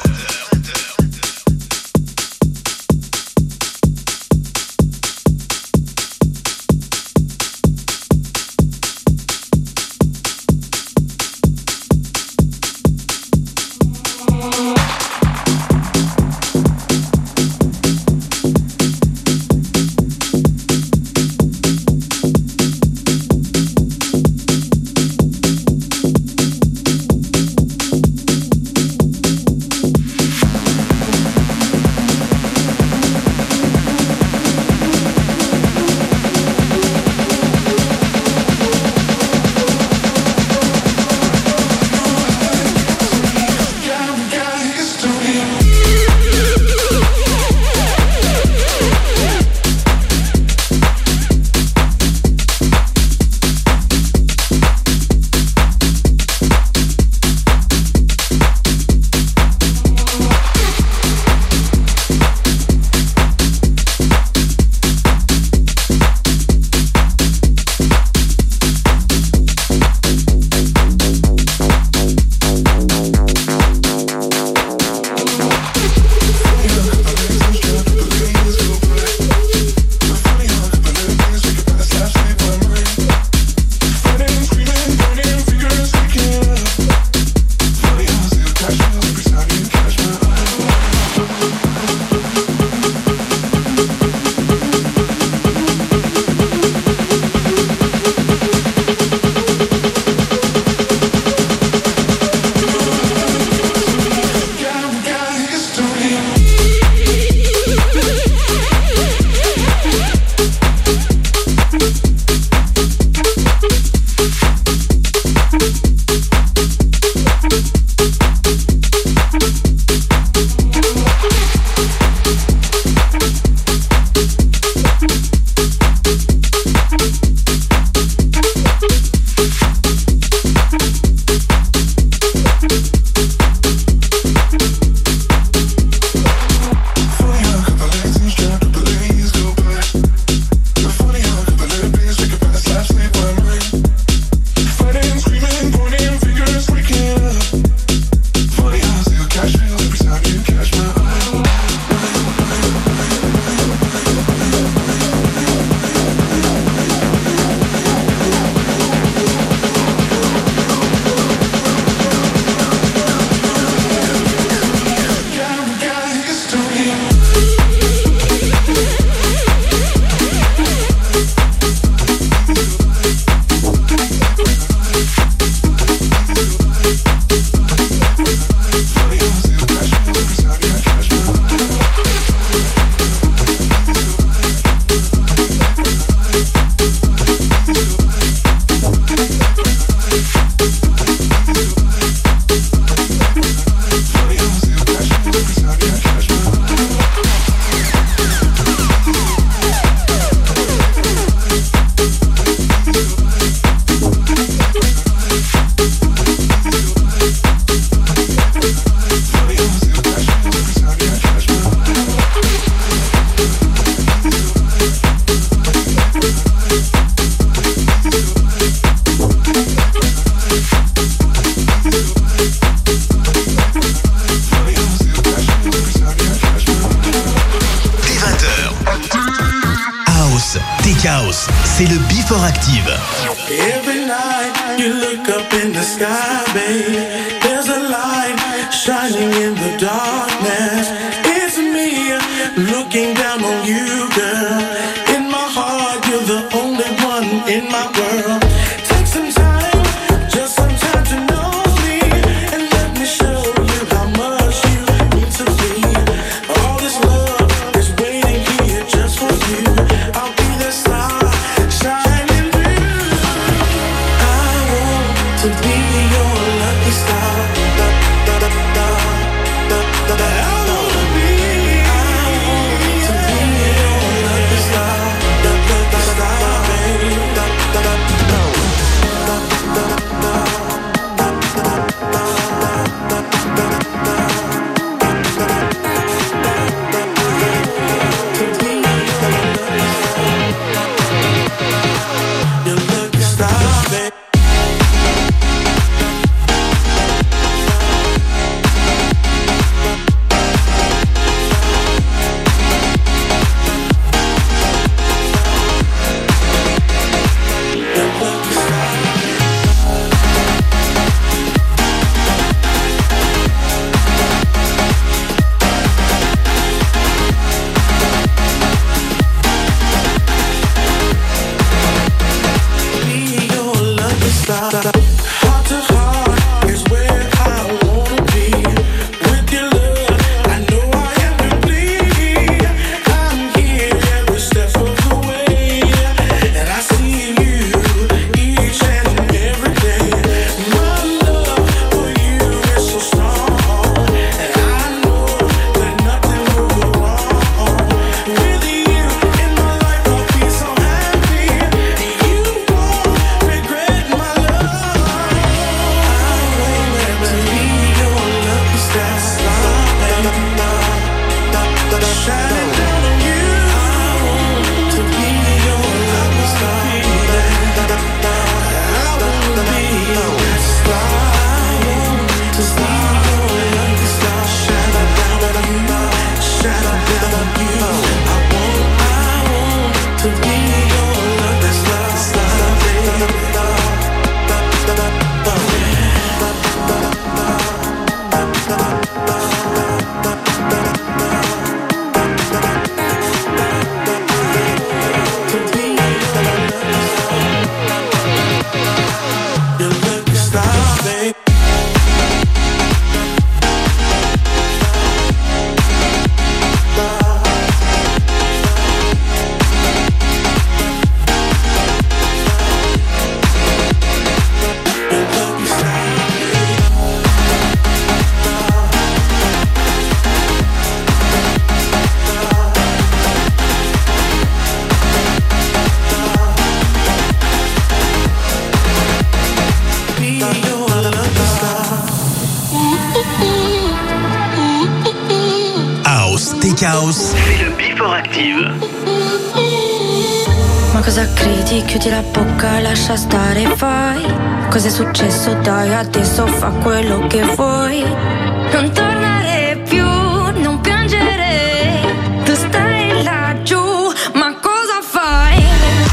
Tech House, c'est le Before Active. Every night you look up in the sky, babe. There's a light shining in the darkness. It's me looking down on you, girl. In my heart, you're the only one in my world. Take some time, just some time to know me, and let me show you how much you mean to me. All this love is waiting here just for you. I'll be the star shining through. I want to be your lucky star. Da, da, da, da, da, da, da. I want to be your lucky star. Da, da, da, da, baby. Da, da, da, da. Heart to heart is where I wanna be. With your love, I know I am complete. I'm here every step of the way, and I see you each and every day. My love for you is so strong, and I know that nothing will go wrong. With you in my life, I'll be so happy, and you won't regret my love. Shining down on you. I want to be your lucky star. I want to be your star. I want to be your lucky star. Shining down on you. Shining down on you. I want to be your lucky star. House, c'est le Before Active. Ma cosa credi? Chiudi la bocca, lascia stare, fai. Cos'è successo? Dai, adesso fa quello che vuoi. Non tornare più, non piangere. Tu stai laggiù, ma cosa fai?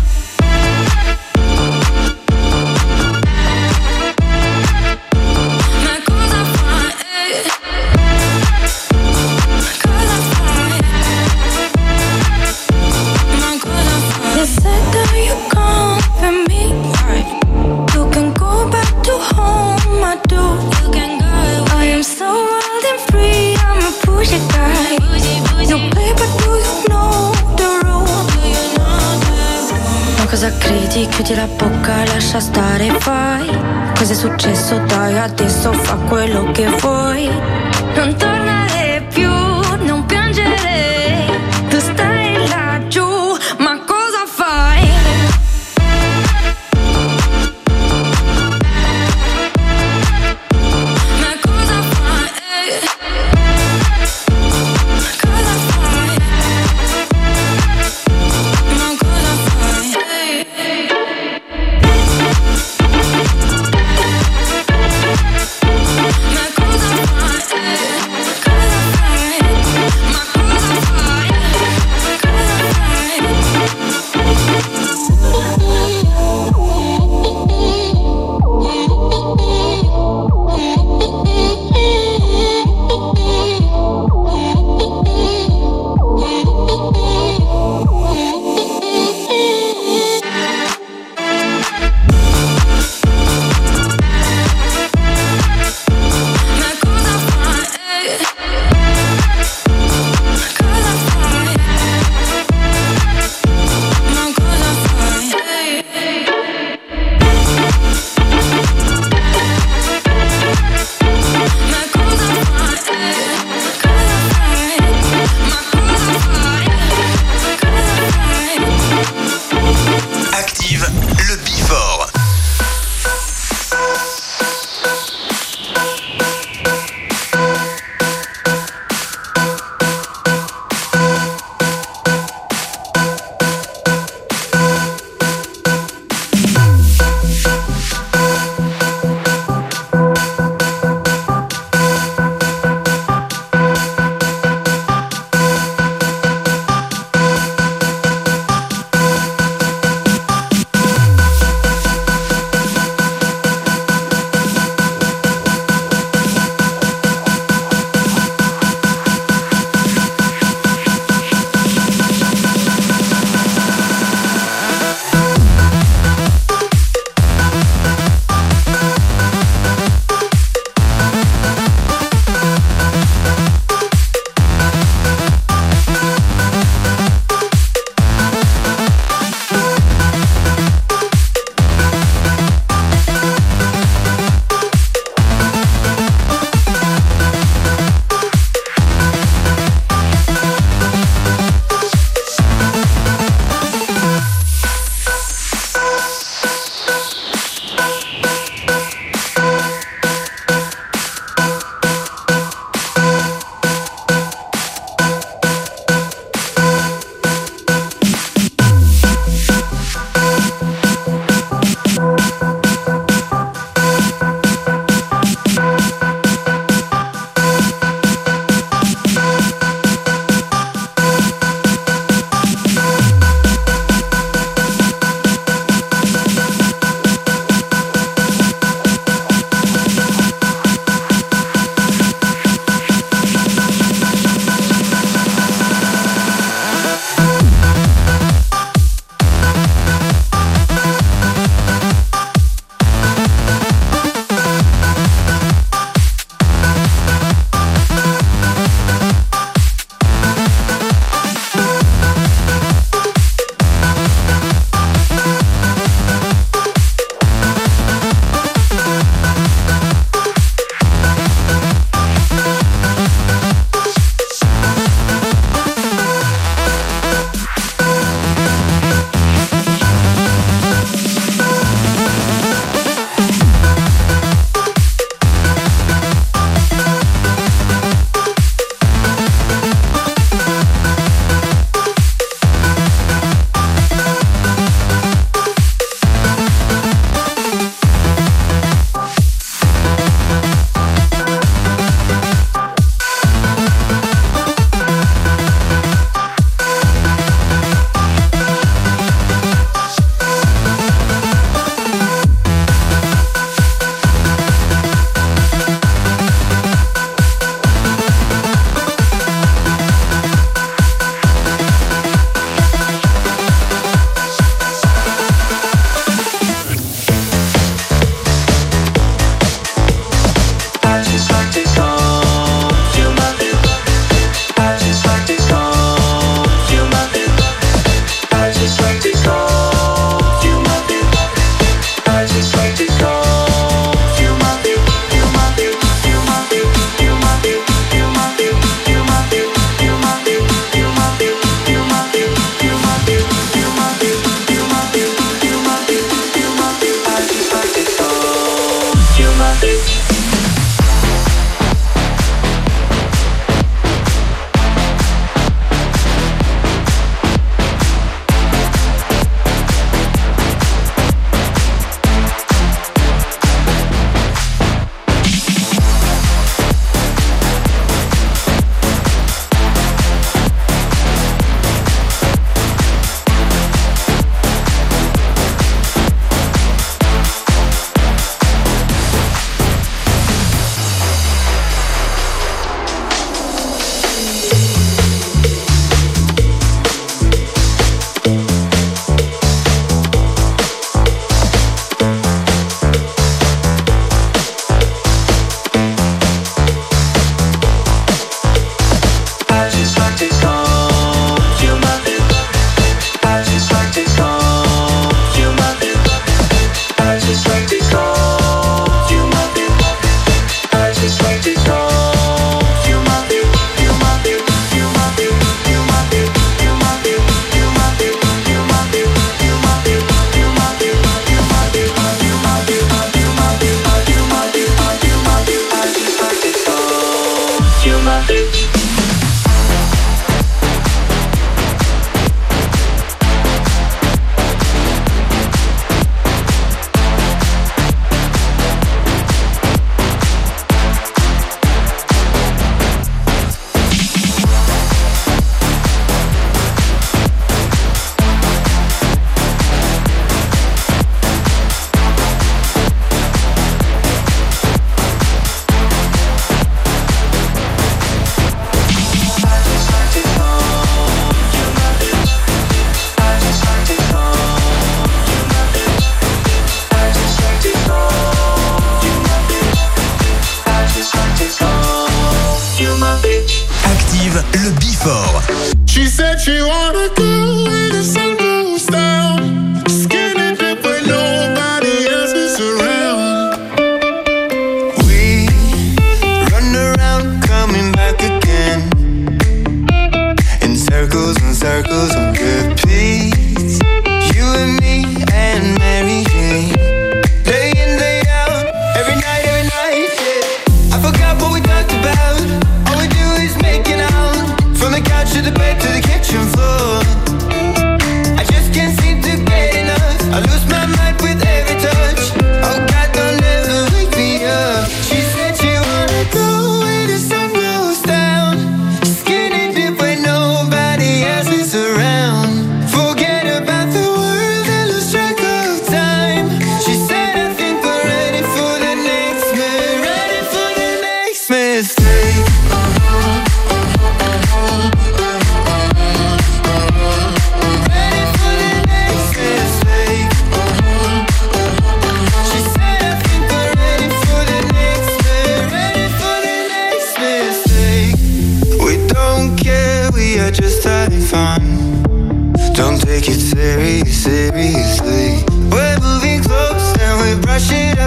Ma cosa fai? You said that you come for me, right? You can go back to home, I do. You can go. I am so wild and free, I'm a bougie guy. No play, but do you know the rules? Ma cosa credi? Chiudi la bocca, lascia stare, fai. Cos'è successo? Dai, adesso fa quello che vuoi. Non tornare più, non piangere. Tu stai laggiù, ma cosa fai? Ma cosa fai? Cosa fai? Ma cosa fai? Ma cosa fai? Cosa fai?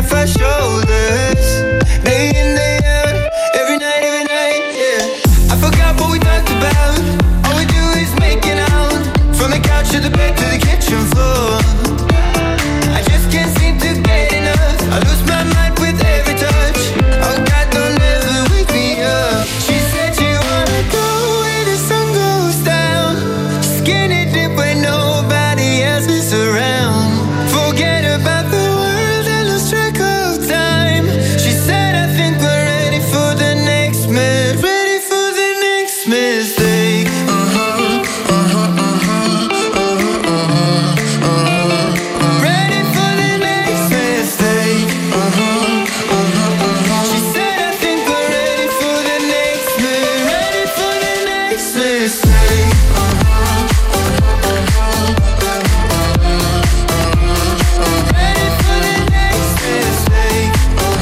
off our shoulders. Day in, day out, every night, yeah. I forgot what we talked about. All we do is making out. From the couch to the bed to the kitchen floor. I just can't seem to get enough. I lose my mind with every touch. Oh God, don't ever wake me up. She said she wanna go where the sun goes down. Skinny dip when nobody else is around. Forget about the world and lose track of time. She said I think we're ready for the next move. Ready for the next mistake. Ready for the next mistake. She said I think we're ready for the next move. Ready for the next mistake. Ready for the next mistake.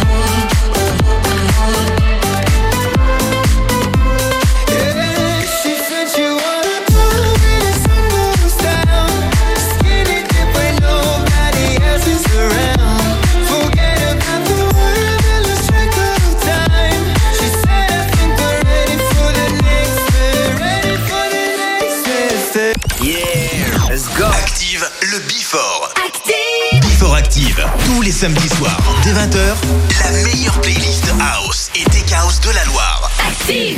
Yeah, she said she wanna go where the sun goes down. Skinny dip when nobody else is around. Forget about the world and lose track of time. She said I think we're ready for the next move. Ready for the next mistake. Yeah, let's go. Active le Before. Before Active, tous les samedis soirs, dès 20h, la meilleure playlist House et Tech House de la Loire. Active.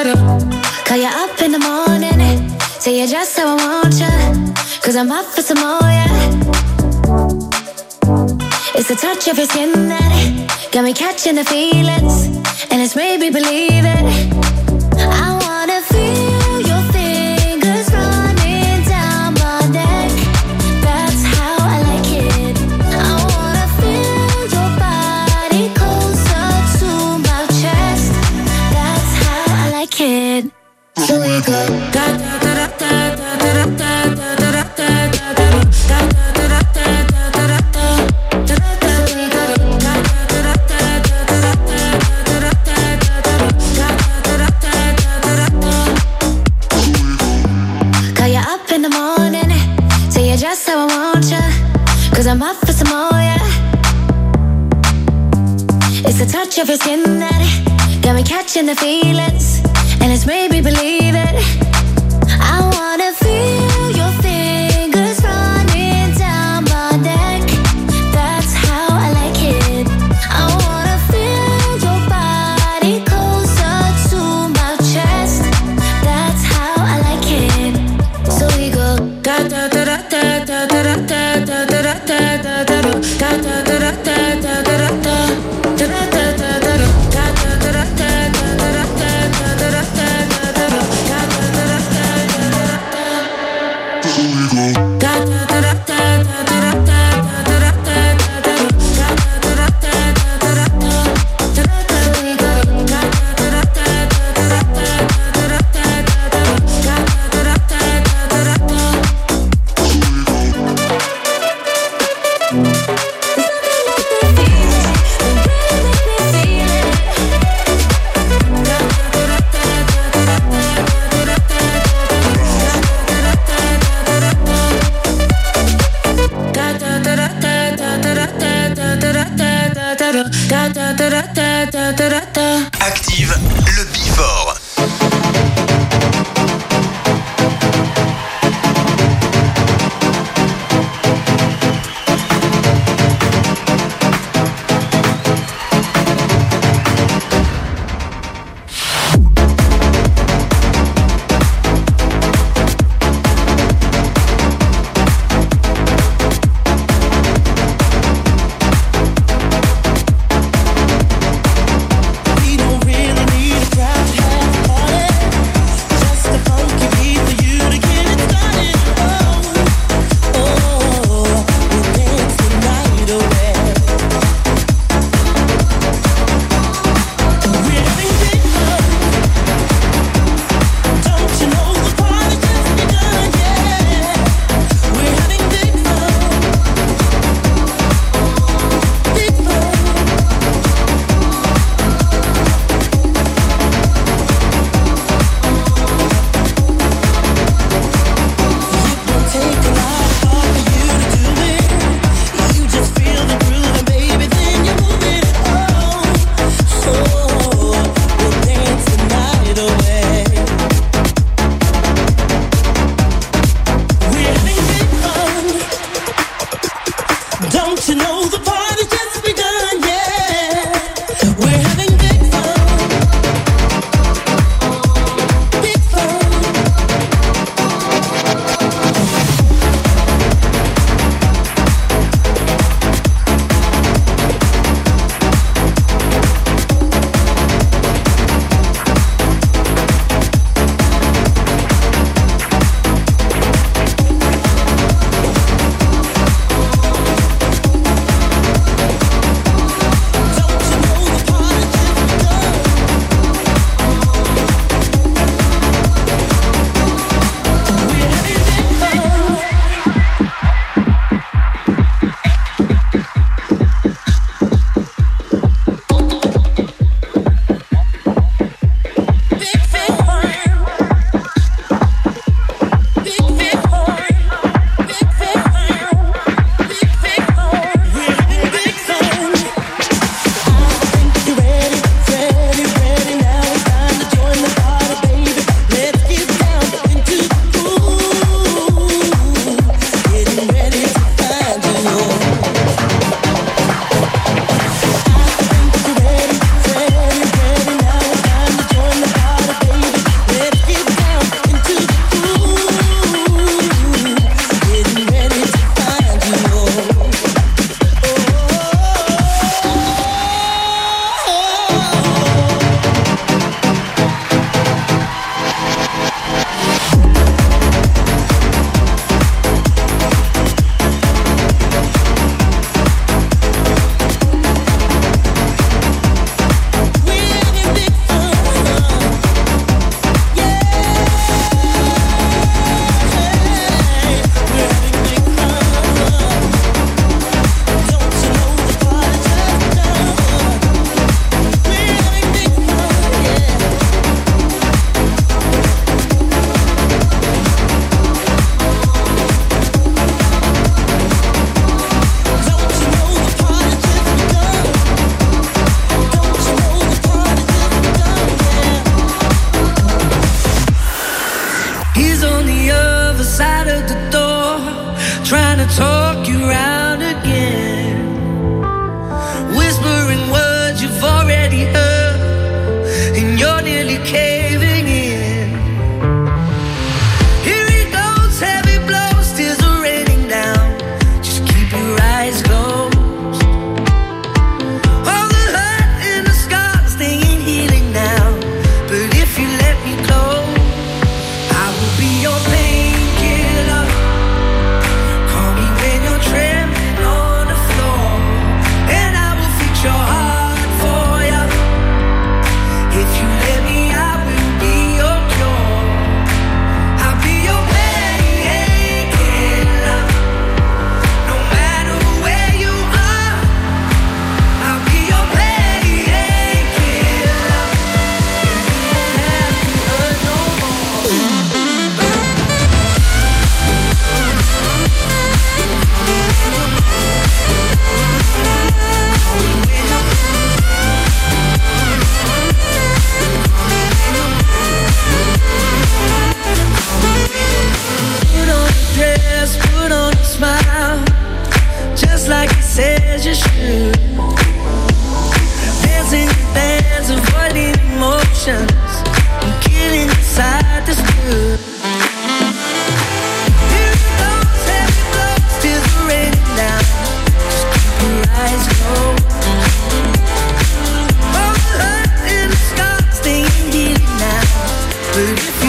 Call you up in the morning, say you just how I want you, 'cause I'm up for some more, yeah. It's the touch of your skin that got me catching the feelings, and it's made me believe it. I wanna feel your fingers running down my neck. That's how I like it. I wanna feel your body closer to my chest. That's how I like it. So we go da da da da da da da da da da da da just how I want you, 'cause I'm up for some more, yeah. It's the touch of your skin that got me catching the feelings, and it's made me believe it. I wanna feel your fingers running down my neck. That's how I like it. I wanna feel your body closer to my chest. That's how I like it. So we go da da da da da.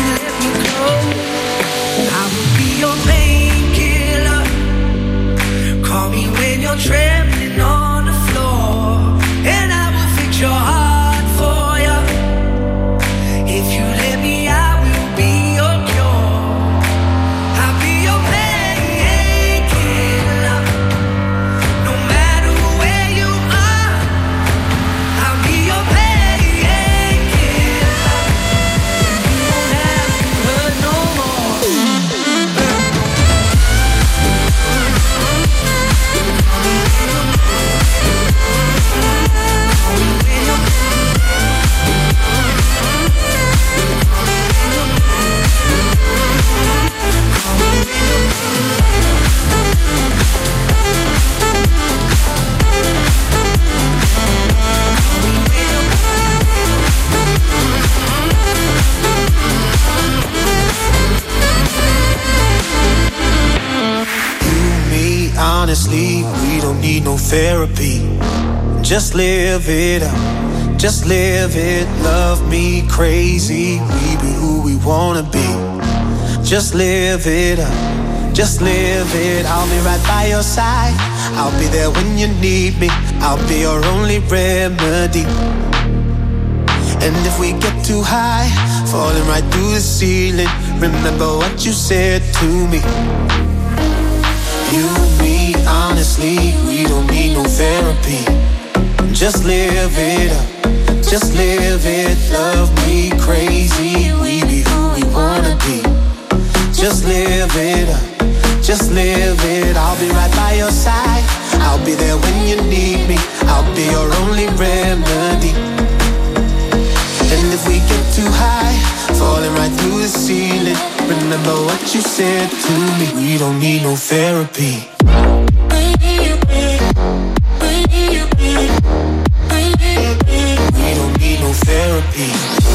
let me go. I will be your painkiller. Call me when you're trembling on the floor, and I will fix your heart for you. If you let me, I will be your cure. I'll be your painkiller. No matter where you are, I'll be your painkiller. You won't have to hurt no more. Honestly, we don't need no therapy. Just live it up, just live it. Love me crazy, we be who we wanna be. Just live it up, just live it. I'll be right by your side, I'll be there when you need me. I'll be your only remedy. And if we get too high, falling right through the ceiling, remember what you said to me. You, me, honestly, we don't need no therapy. Just live it up, just live it. Love me crazy, we be who we wanna be. Just live it up, just live it. I'll be right by your side, I'll be there when you need me. I'll be your only remedy. And if we get too high, falling right through the ceiling, remember what you said to me. We don't need no therapy. We don't need no therapy.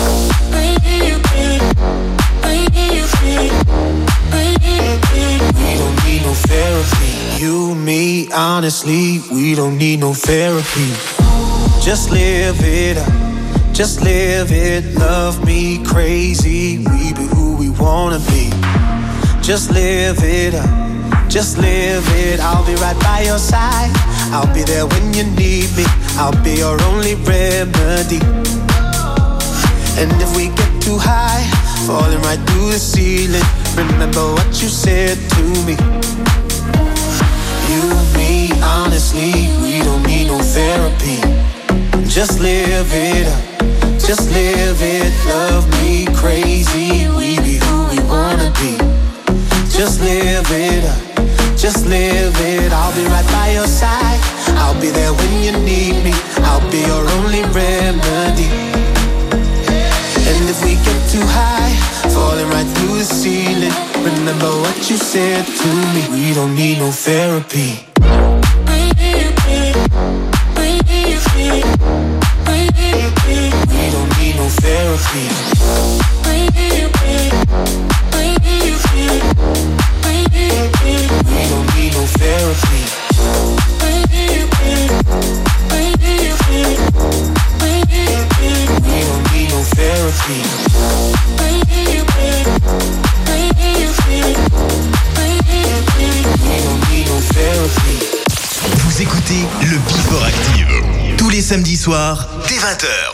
We don't need no therapy. You, me, honestly, we don't need no therapy. Just live it up, just live it. Love me crazy, we be who we wanna be. Just live it up, just live it. I'll be right by your side, I'll be there when you need me. I'll be your only remedy. And if we get too high, falling right through the ceiling, remember what you said to me. You, me, honestly, we don't need no therapy. Just live it up, just live it. Love me crazy, we be who we wanna be. Just live it up, just live it. I'll be right by your side, I'll be there when you need me. I'll be your only remedy. And if we get too high, falling right through the ceiling, remember what you said to me. We don't need no therapy. We don't need no therapy. We don't need no therapy. We don't need no therapy. We don't need no therapy. Vous écoutez le Before Active tous les samedis soirs dès 20h.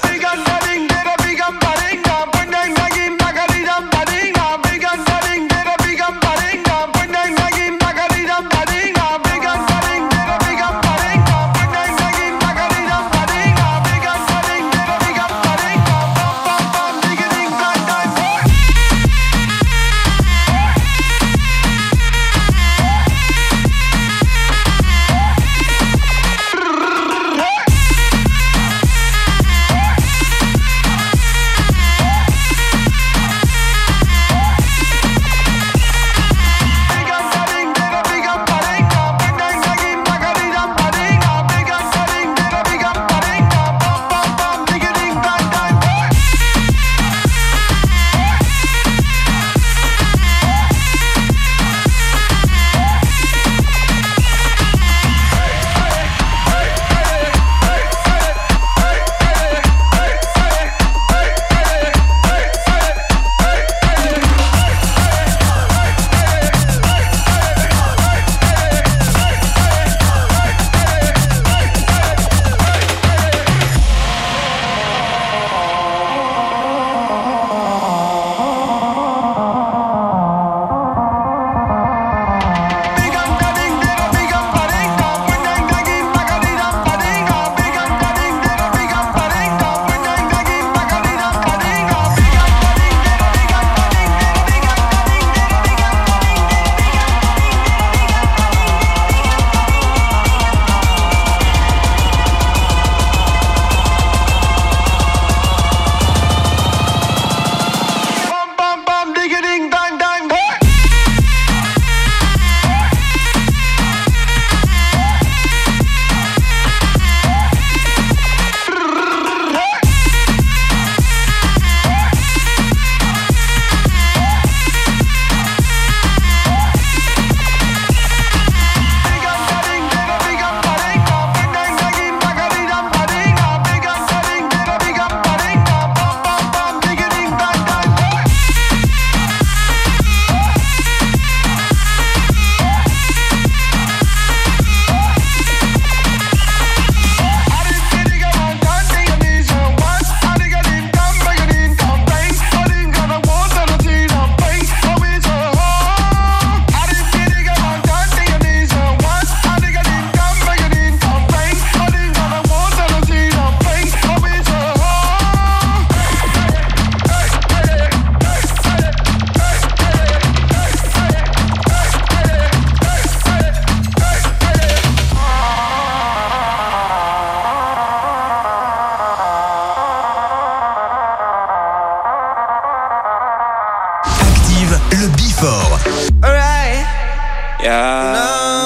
le Before. Alright. Yeah.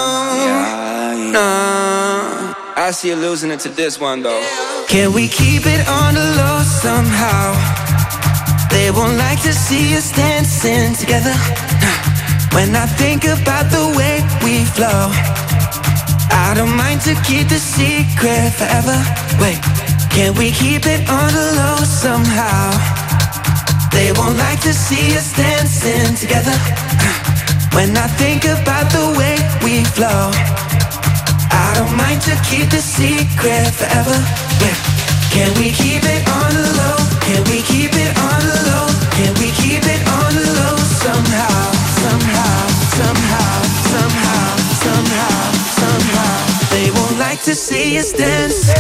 No. I see you losing it to this one though. Can we keep it on the low somehow? They won't like to see us dancing together. When I think about the way we flow, I don't mind to keep the secret forever. Wait, can we keep it on the low somehow? They won't like to see us dancing together. When I think about the way we flow, I don't mind to keep the secret forever. Yeah. Can we keep it on the low? Can we keep it on the low? Can we keep it on the low somehow? Somehow, somehow, somehow, somehow, somehow. They won't like to see us dance.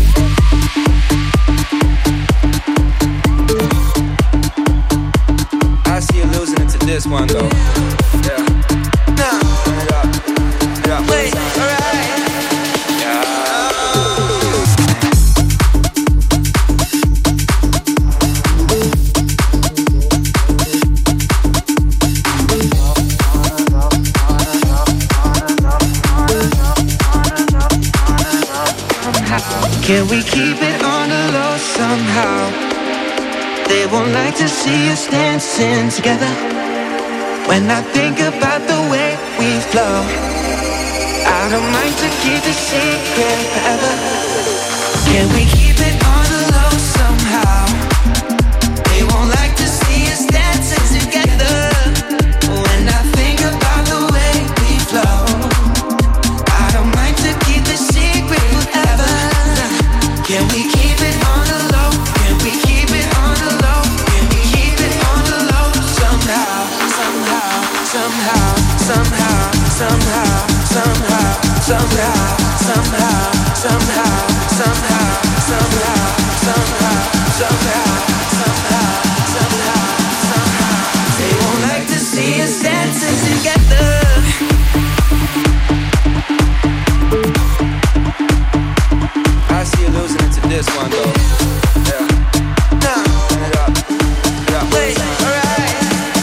I see you losing it to this one though. Yeah. Nah. Yeah. Wait, alright. Can we keep it on the low somehow? They won't like to see us dancing together. When I think about the way we flow, I don't mind to keep the secret forever. Can we keep it on the low somehow? They won't like to see us dancing together. When I think about the way we flow, I don't mind to keep the secret forever. Can we keep it on the low? Can we keep it on the low? Can we keep it on the low somehow? Somehow, somehow, somehow, somehow, somehow, somehow, somehow, somehow, somehow, somehow, somehow, somehow, somehow, somehow, somehow. They won't like to see us dancing together. I see you losing it to this one though. Yeah. Nah. Yeah. Wait, alright.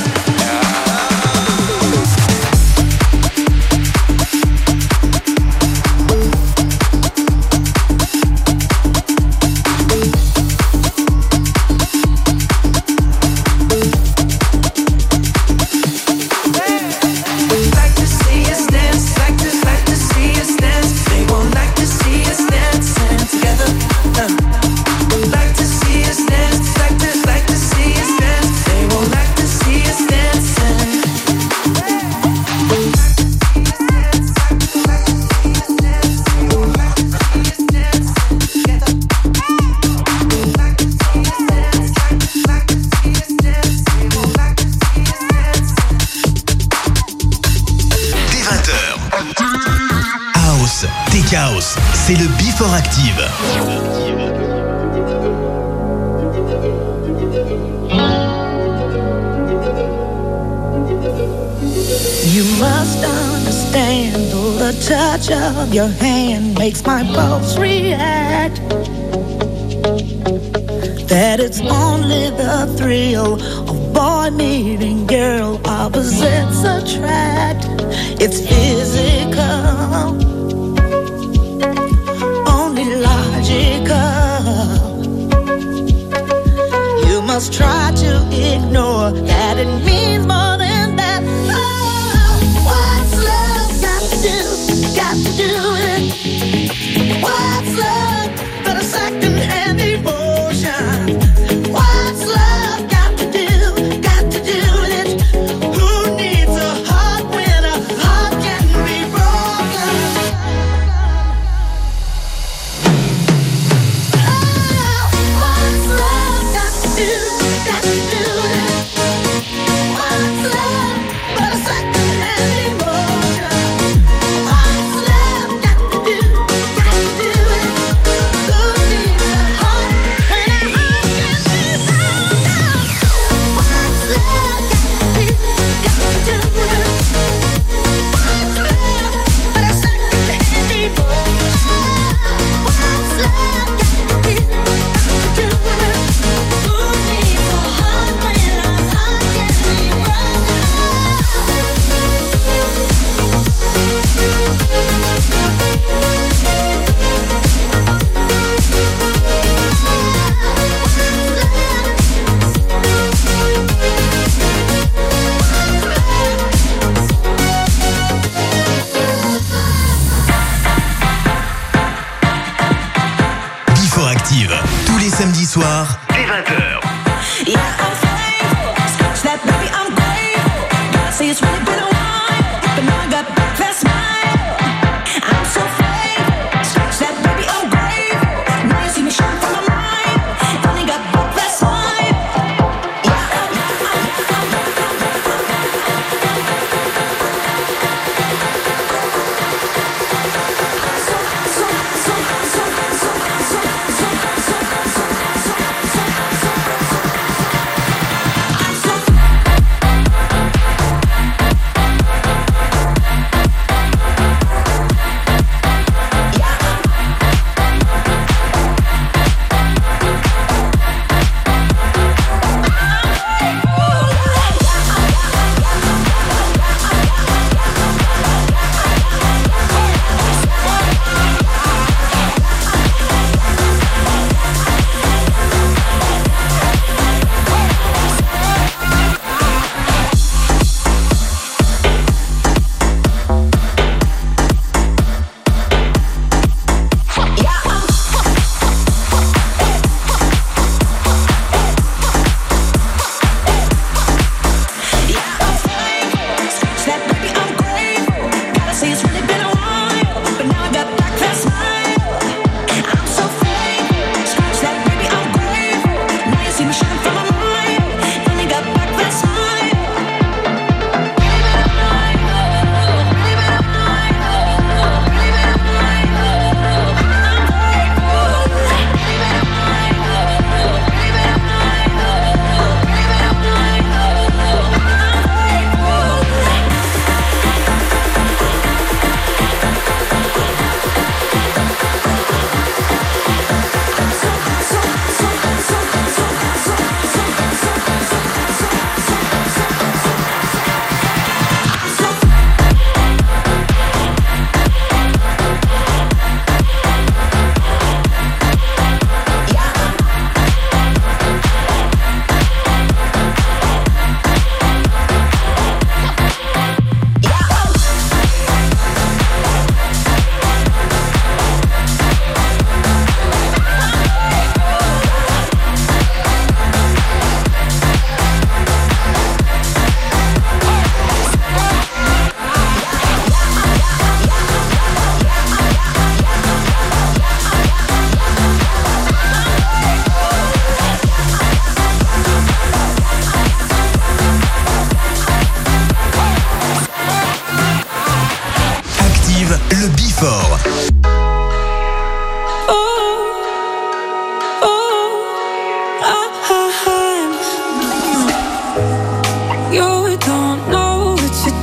C'est le Before Active. You must understand, the touch of your hand makes my pulse react. That it's only the thrill of boy meeting girl, opposites attract. It's physical, you must try to ignore that it means more than that. Oh, what's love got to do? Got to do it. What's love but a second-hand emotion? What's love got to do? Got to do it. Who needs a heart when a heart can be broken? What's love got to do? Got to do it.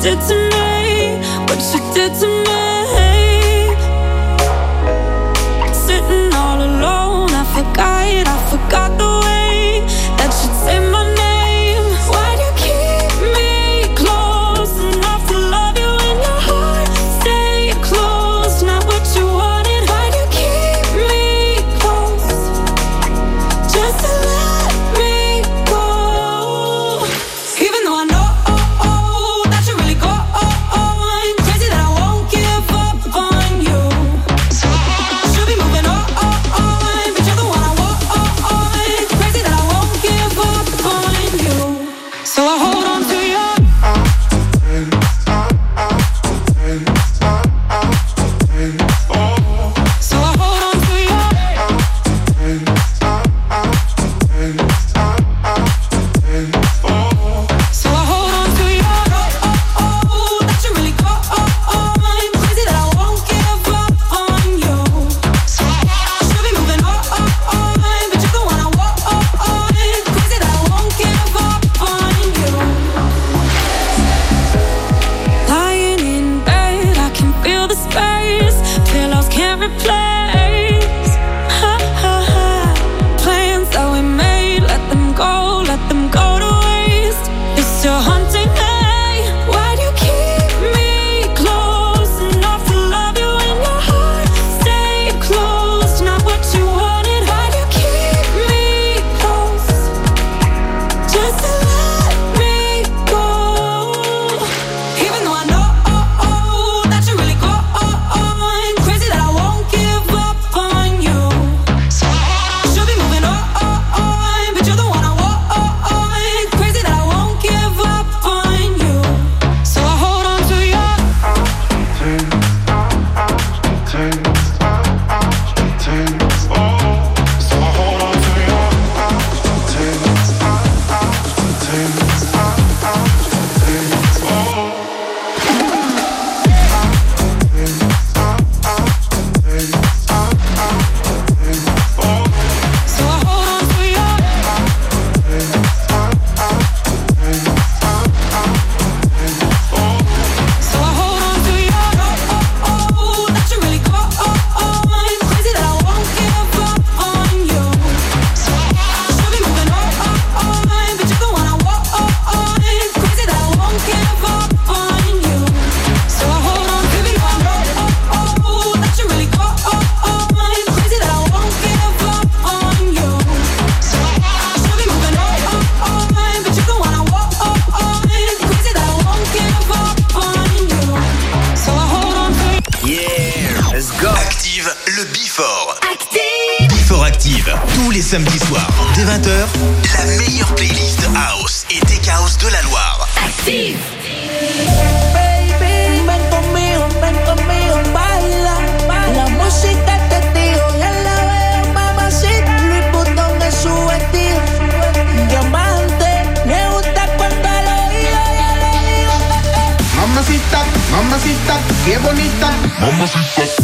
did to me, what you did to me. Sitting all alone, I forgot the way that you'd say my name. Why'd you keep me close enough to love you in your heart? Stay close, not what you wanted. Why'd you keep me close just to let me go? Even though I know that you really go on, crazy that I won't give up on you. Should be moving on, but you're the one I want. Crazy that I won't give up on you. So I hold on to you. So I hold on to you. So I hold on to you. That you really go on. Crazy that I won't give up on you. Should be moving on, but you're the one I want. Crazy that I won't give up on you. Lying in bed, I can feel the space. Pillows can't replace. Plans that we made, let them go to waste. It's still haunting me. Why'd you keep me close enough to love you in your heart? Stay close, not what you wanted. Why'd you keep me close just to let me go? Even though I know that you really go on, crazy that I won't give up on you. Should be moving on, but you're the one I want. Crazy that I won't give up on you. So I hold on to you. So I hold on to you. So I hold on to you. That you really go on. Crazy that I won't give up on you. Should be moving on, but you're the one I want. Crazy that I won't give up on you. So I hold on to you. That you really go on. Crazy that I won't give up on you. Should be moving on, but you're the one I want. Crazy that I won't give up on you. So I hold on to you. Yeah, let's go. Active le Before. Active. Before Active, tous les samedis soirs, dès 20h, la meilleure playlist house et tech house de la Loire. Active. Baby, ven conmigo, baila. La música te digo, ya la veo, mamacita. Louis Vuitton es su vestido. Diamante, me gusta cuando lo digo, ya lo digo. Mamacita, mamacita, qué bonita. Mamacita.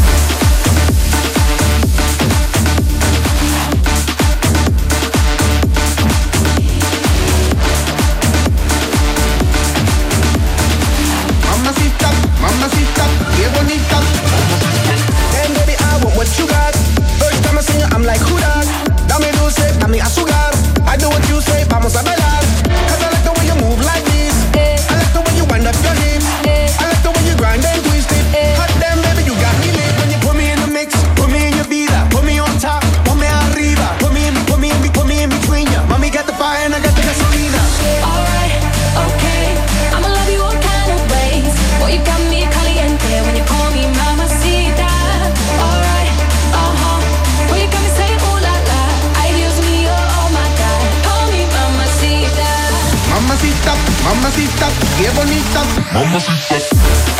Mamacita, mamacita, qué bonita. And baby, I want what you got. First time I see you, I'm like, who that? Dame dulce, dame azúcar. I do what you say, vamos a bailar. Cause I like the way you move like this. I like the way you wind up your hips. I like the way you grind and twist it. Hot damn, baby, you got me lit. When you put me in the mix, put me in your vida. Put me on top, put me arriba. Put me in between ya. Mommy got the fire and I got the gasolina. Alright, okay, I'ma love you all kind of ways. Boy, you got me caliente when you call me mamacita. Alright, boy, you got me saying ooh la la. Ay, Dios mío, oh my God, call me mamacita. Mamacita, mamacita, qué bonita. Mamacita.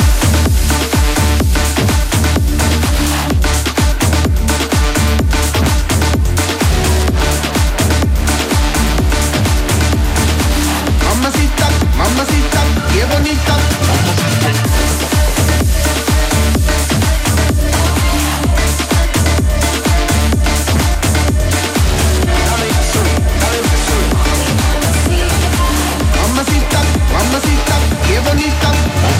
Mamacita, mamacita, qué bonita. Mamacita, mamacita, qué bonita.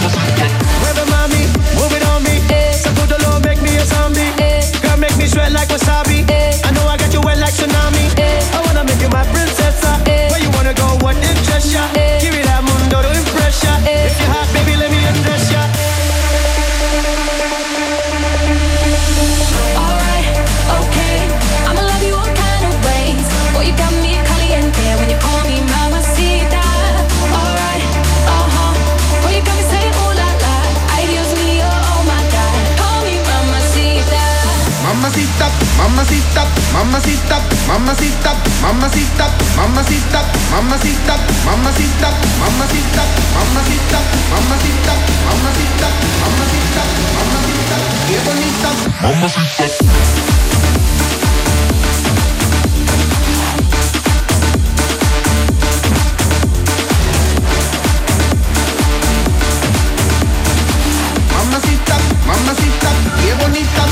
mamacita, mamacita, mamacita, mamacita, mamacita, mamacita, mamacita, mamacita, mamacita, mamacita, mamacita, mamacita, qué bonita, mamacita. Mamacita, mamacita, qué bonita.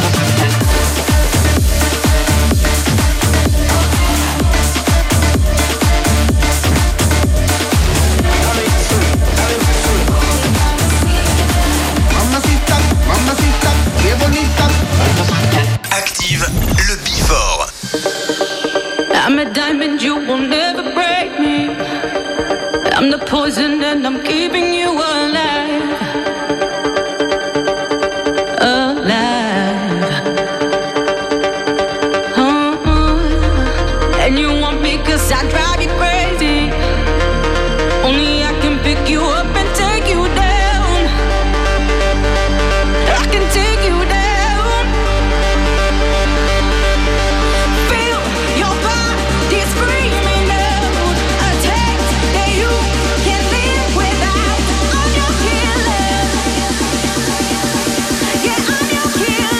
Mamacita, mamacita, qué bonita. Active le Before. I'm a diamond, you will never break me. I'm the poison and I'm keeping you alive. And you want me 'cause I drive you crazy. Only I can pick you up and take you down. I can take you down. Feel your body screaming out a taste that you can't live without. I'm your killer. Yeah, I'm your killer.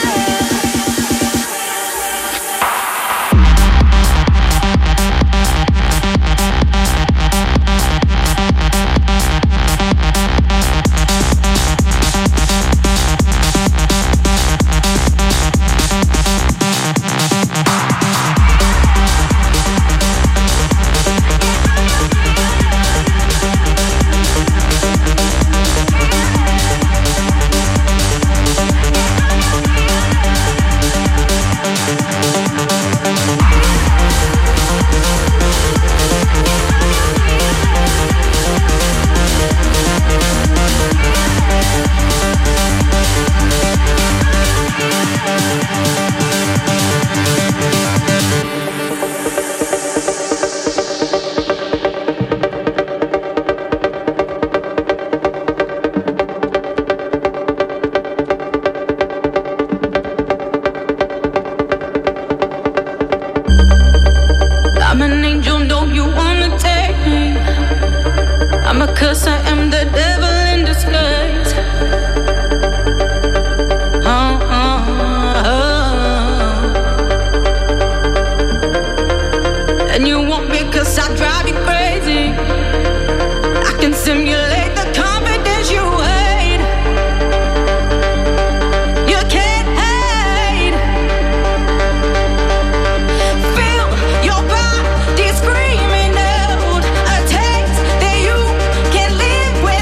I'm an angel, no, you wanna take me. I'm a curse, I am the devil in disguise. And you want me 'cause I drive you crazy. I can simulate the confidence you hate. You can't hide. Feel your body screaming out a taste that you can't live with.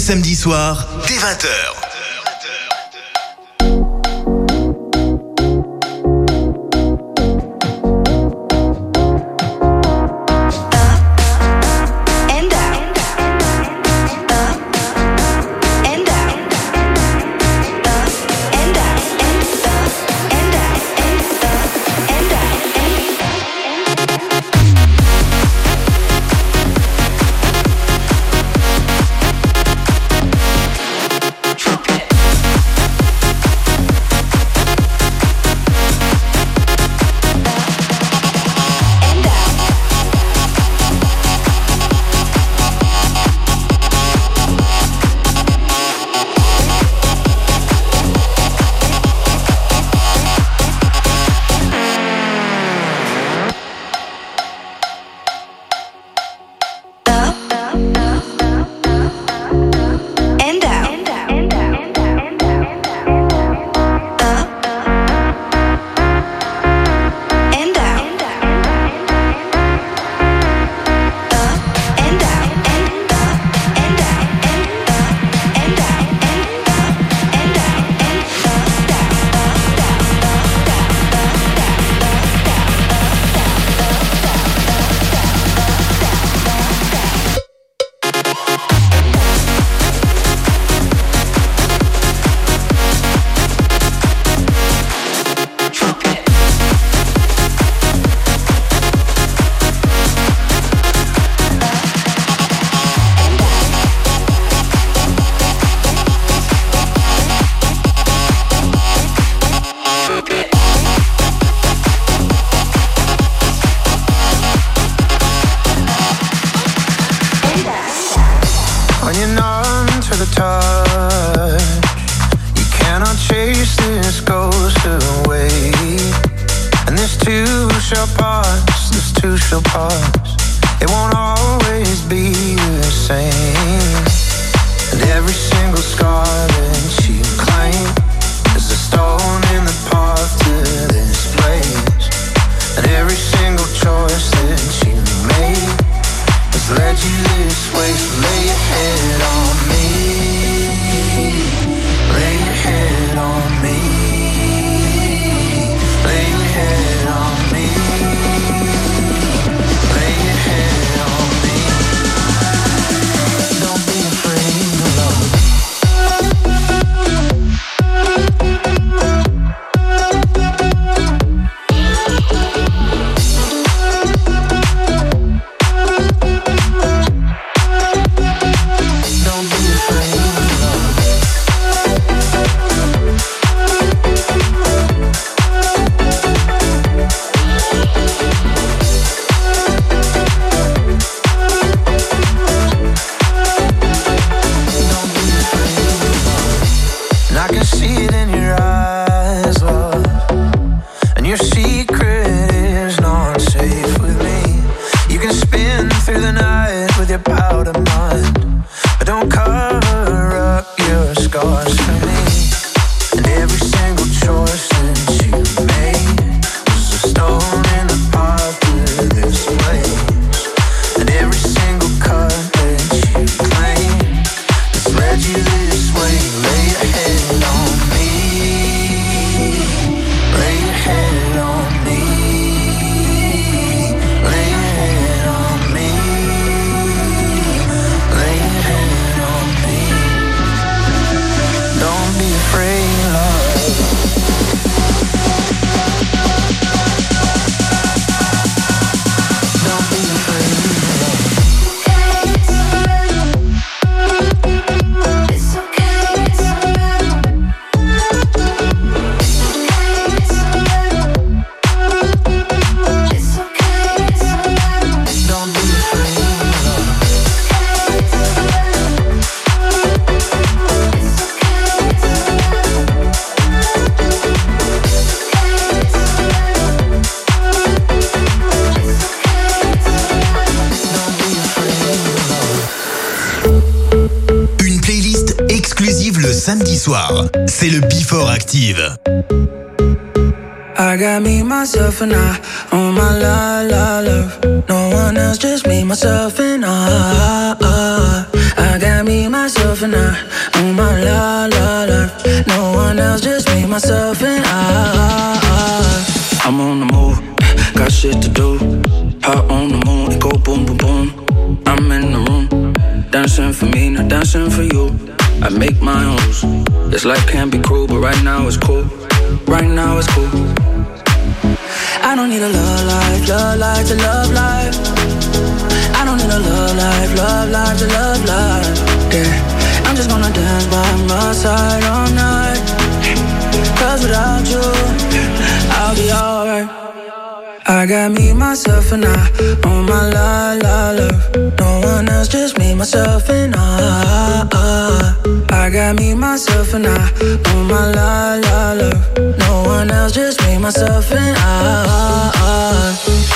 samedis soirs, dès 20h. samedi soir, c'est le Before Active. I got me, myself and I, on my love. No one else, just me, myself and I got me, myself, and I. On my la la life. No one else, just me, myself, and I. I'm on the move, got shit to do. Hot on the moon, it go boom, boom, boom. I'm in the room, dancing for me, not dancing for you. I make my own rules. This life can be cruel, but right now it's cool. Right now it's cool. I don't need a love life to love life. I don't need a love life to love life. Yeah, I'm just gonna dance by my side all night. Cause without you, I'll be alright. I got me, myself, and I. On my la la love. No one else, just me, myself, and I. I got me, myself, and I. On my la la love. No one else, just me, myself, and I.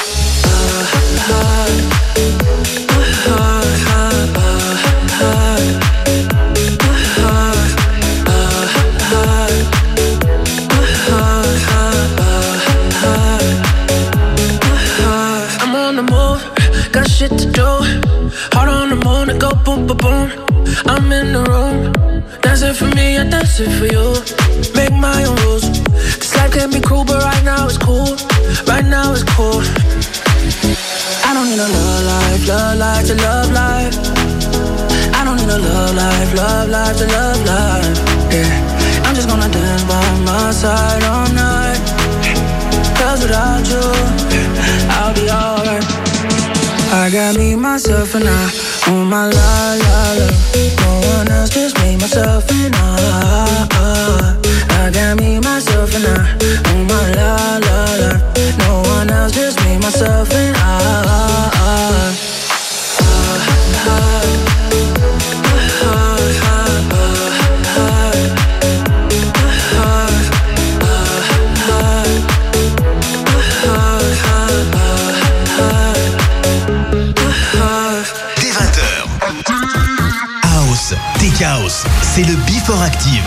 I'm on the move, got shit to do. Hard on the moon, it go boom, boom, boom. I'm in the room, dancing for me, I dance it for you. Make my own rules. This life can be cruel, but right now it's cool. Right now it's cool. I don't need a love life to love life. I don't need a love life to love life. Yeah, I'm just gonna dance by my side all night. Cause without you, I'll be alright. I got me, myself, and I. On my la la la. No one else, just me, myself, and I. I got me, myself, and I. On my la la la. No one else, just me, myself, and I. Chaos, c'est le Before Active.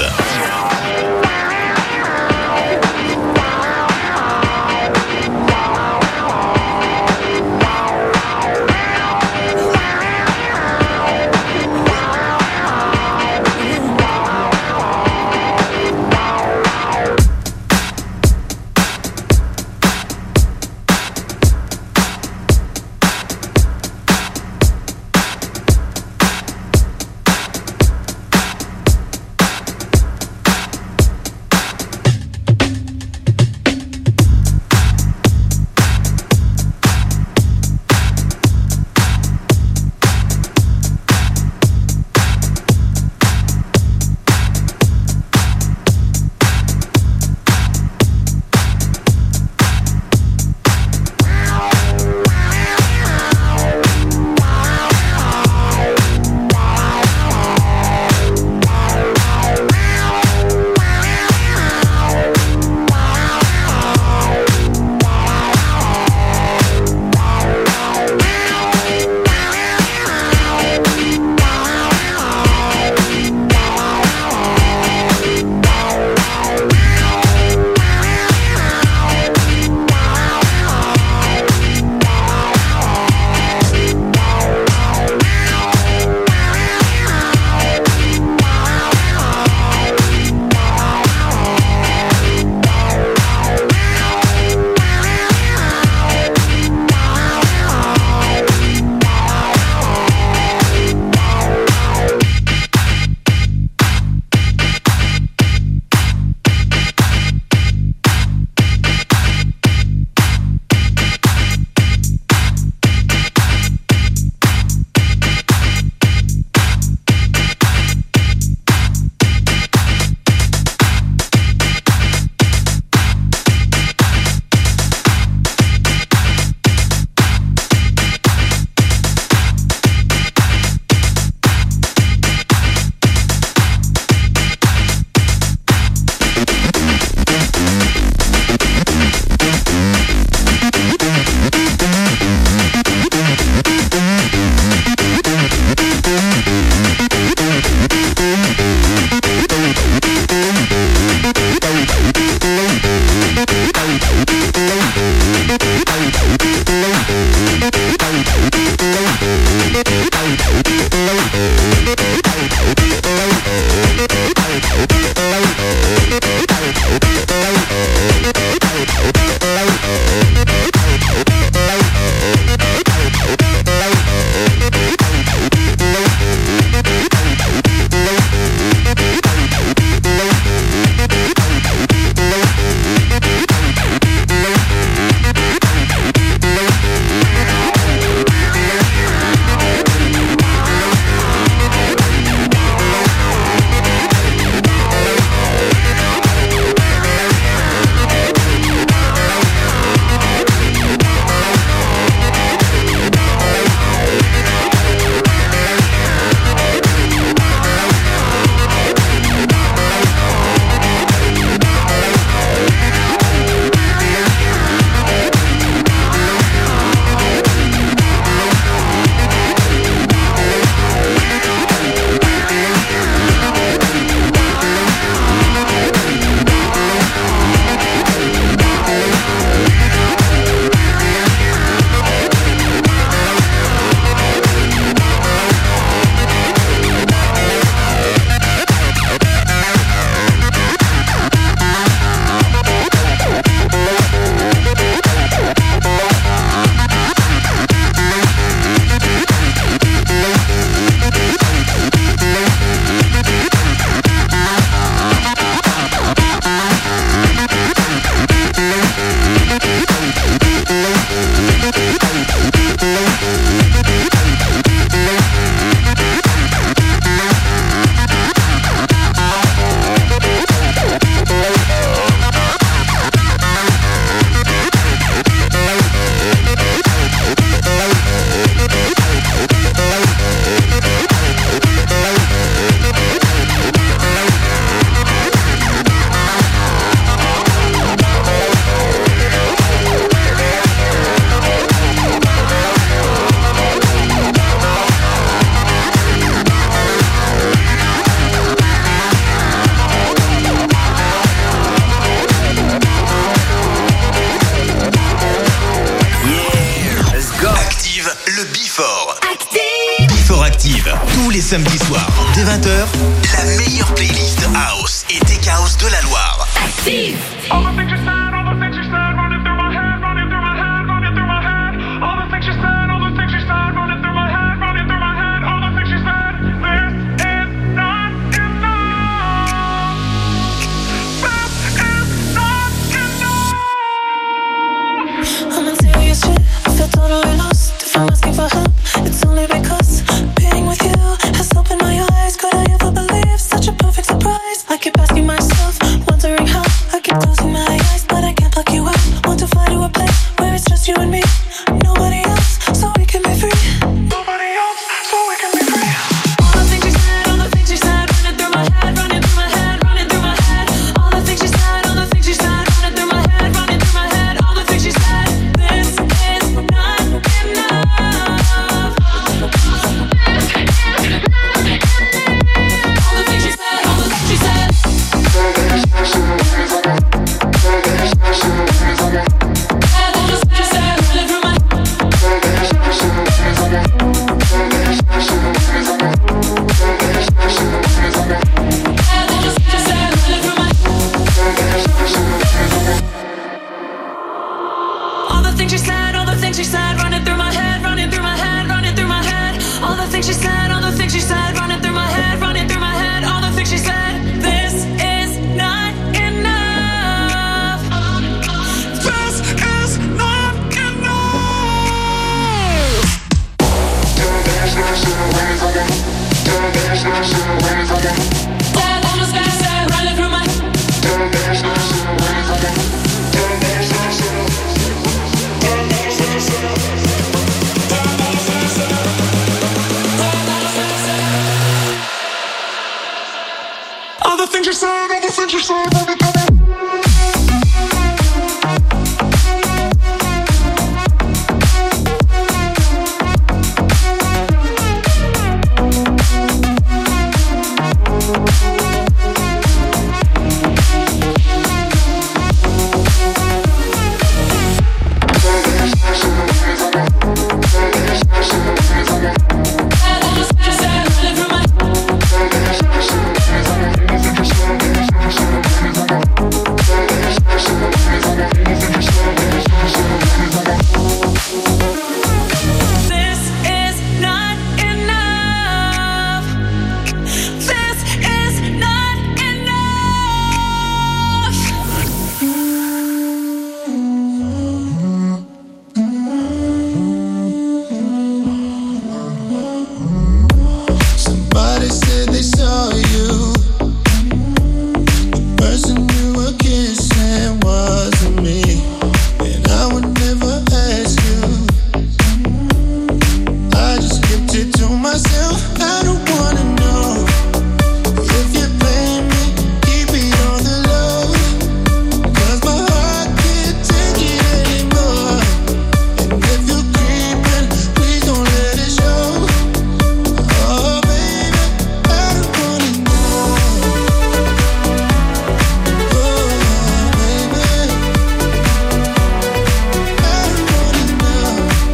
les samedis soirs, dès 20h, la meilleure playlist House et Tech House de la Loire. Active. All the things you said, all the things you said, running through my head, running through my head, running through my head. All the things you said, all the things you said, running through my head, running through my head. All the things you said, this is not enough. This is not enough. I'm in serious shit, I feel totally lost. If I'm asking for help, it's only because being with you has opened my eyes. Could I ever believe such a perfect surprise? I keep asking myself, wondering how. I keep closing my eyes, but I can't block you out. Want to fly to a place where it's just you and me. Nobody else, so we can be free. Nobody else, so we can be free. All the things you said, all the things you said, running through my head, running through my head, running through my head. All the things you said, all the things you said, running through my head, running through my head. All the things you said, this is not enough. All the things you said, all the things you said. All the things you said, all the things you said, running through my head, running through my head, running through my head. All the things you said, all the things you said, running through my head, running through my head. All the things you said, this is not enough. This is not all the things you said, all the things you said, Somebody said they saw you. The person you were kissing wasn't me, and I would never ask you. I just kept it to myself. I don't wanna know if you blame me. Keep it on the low, 'cause my heart can't take it anymore. And if you're creeping, please don't let it show. Oh baby, I don't wanna know. Oh baby, I don't wanna know.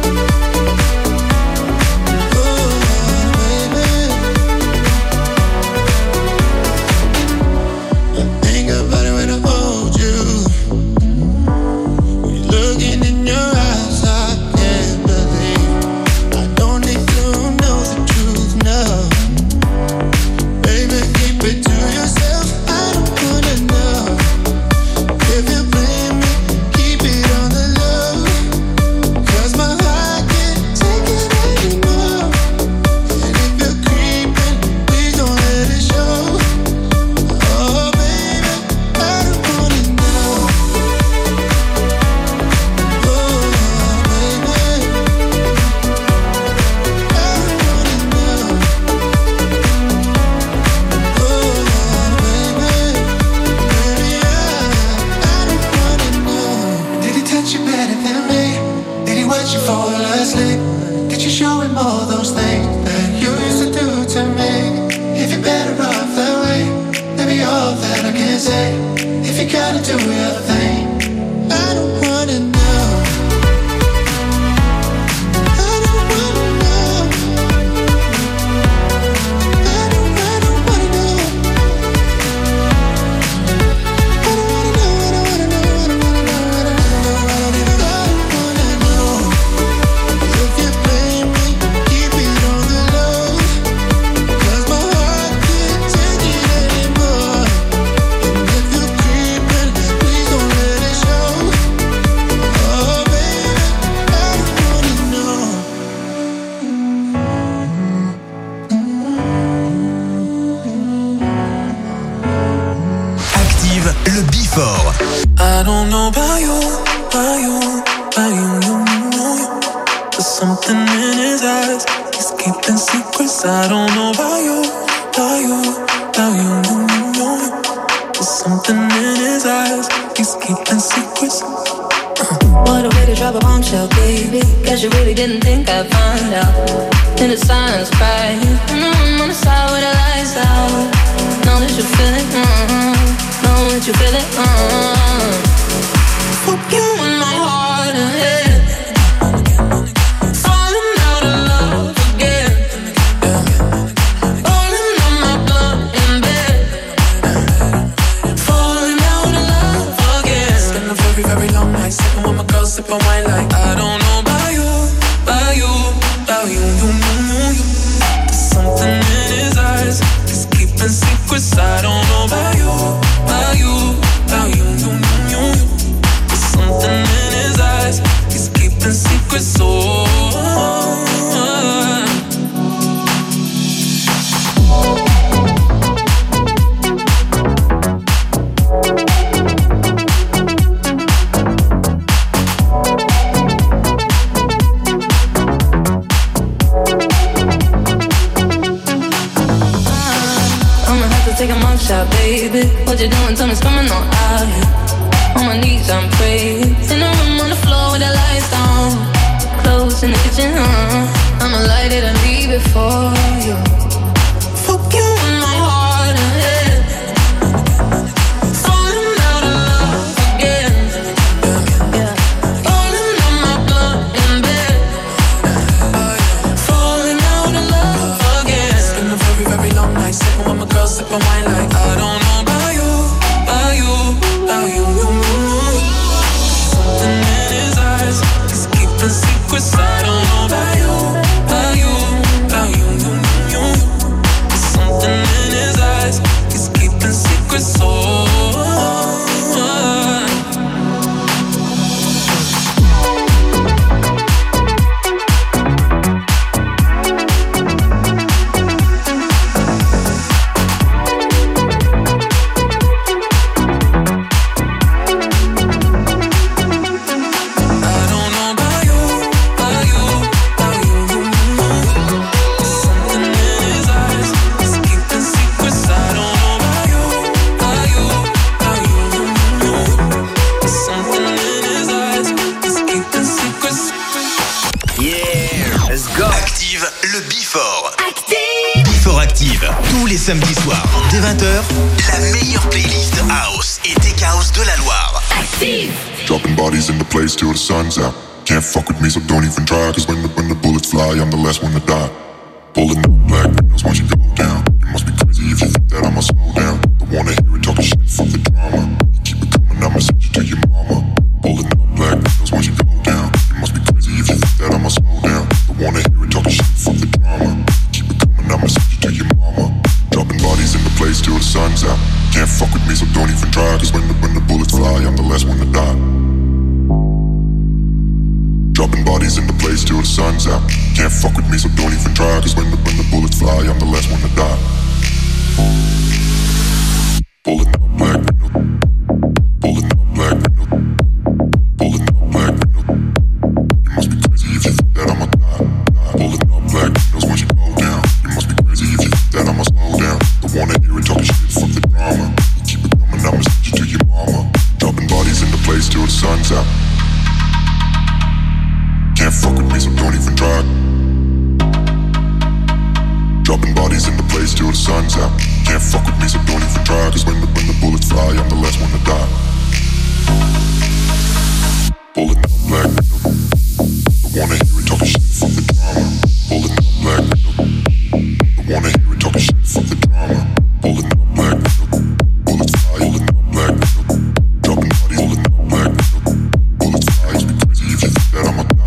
Oh baby, I think about it when I hold you. When you're looking in your eyes, I can't believe. I don't need to know the truth now. Baby, keep it to yourself. I don't wanna know if you blame me. Keep it on the low, 'cause my heart can't take it anymore. And if you're creeping, please don't let it show. Oh baby, I don't wanna know. Oh baby, I don't wanna know. Oh baby, baby, I don't wanna know. Did he touch you better than me? Did he watch you fall asleep? Did you show him all those things that you used to do to me? If you're better off that way, maybe all that I can say. If you gotta do your thing, I don't wanna know. I don't wanna know. There's something in his eyes. He's keeping secrets. I don't know about you. There's something in his eyes. He's keeping secrets. What a way to drop a bombshell, baby. Guess you really didn't think I'd find out. In the silence, cry. I'm on the side with the lights out. Know that you feel it, know that you feel it, Fuck you in my heart and head. Falling out of love again. Rolling on my blood in bed. Falling out of love again. Spend a very, very long night sipping with my girl, sipping wine like I don't know about you. There's something in his eyes. He's keeping secrets. I don't know about you. There's something in his eyes. He's keeping secrets. Take a mug shot, baby. What you doing? Tell me, coming on out here. On my knees, I'm praying. In the room on the floor with the lights down. Clothes in the kitchen, I'ma light it and leave it for you. Fuck you in my heart and head. Falling out of love again. Rolling on my blood in bed. Falling out of love again. Spend a very, very long night sipping with my girl, sipping wine like I don't know about you. Something in his eyes. He's keeping secrets. I don't know about you. There's something in his eyes. He's keeping secrets. Tous les samedis soirs, dès 20h, la meilleure playlist House et Tech House de la Loire. Active! Dropping bodies in the place till the sun's out. Can't fuck with me, so don't even try. Cause when the bullets fly, I'm the last one to die. Pulling up black windows once you go down. You must be crazy if you think that I'ma slow down. Don't wanna hear it talking shit, fuck the drama. Keep it coming, I'ma send you to your mama. Pulling up black windows once you go down. You must be crazy if you think that I'ma slow down. Don't wanna hear it talking shit, fuck the drama. Keep it coming, I'ma send you to your mama. Dropping bodies in the place till the sun's out. Can't fuck with me, so don't even try. Cause when the bullets fly, I'm the last one to die. Dropping bodies in the place till the sun's out. Can't fuck with me, so don't even try. Cause when the bullets fly, I'm the last one to die. Pulling up black window. Pulling up black window. Pulling up black window. You must be crazy if you think that I'ma die. Pulling up black windows once you go down. You must be crazy if you think that I'ma slow down. Don't wanna hear it talking shit, fuck the drama. Keep it coming, I'ma send you to your mama. Dropping bodies in the place till the sun's out. Can't fuck with me, so don't even try. Dropping bodies in the place till the sun's out. Can't fuck with me, so don't even try. Cause when the bullets fly, I'm the last one to die. Pulling up black window. Don't wanna hear it talking shit, fuck the drama. Pulling up black window. Don't wanna hear it talking shit, fuck the drama. Pulling up black window. Bullets fly, pulling up black window. Dropping bodies, pulling up black window. Bullets fly, you be crazy if you think that I'ma die.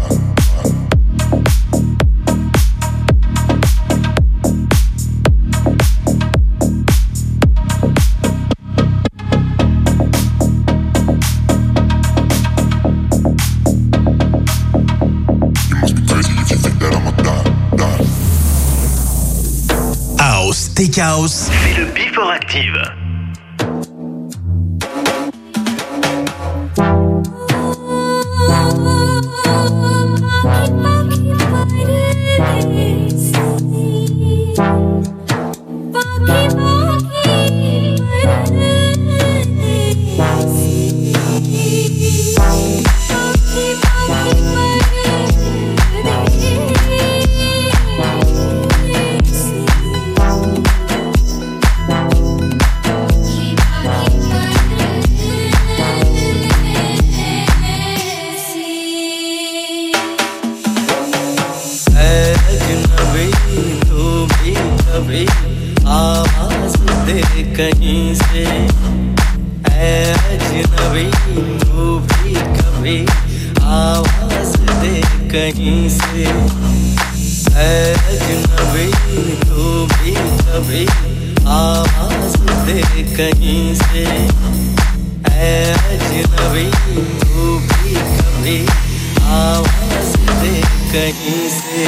Tech House, c'est le Before Active. कभी आवाज दे कहीं से ऐ अजनबी तू भी कभी आवाज दे कहीं से ऐ अजनबी तू भी कभी आवाज दे कहीं से ऐ अजनबी तू भी कभी आवाज दे कहीं से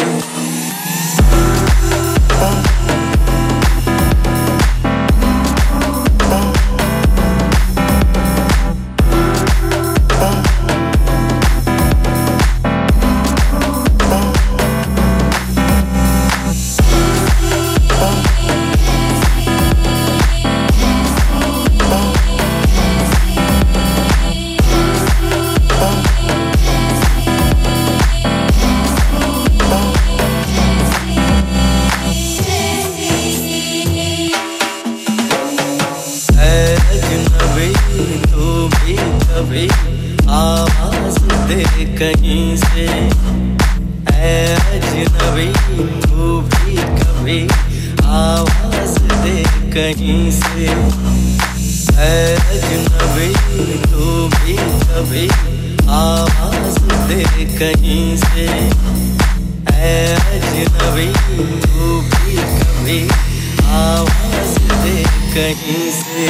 आवाज दे कहीं से ऐ अजनबी तू भी कभी आवाज दे कहीं से ऐ अजनबी तू भी कभी आवाज दे कहीं से ऐ अजनबी तू भी कभी आवाज दे कहीं से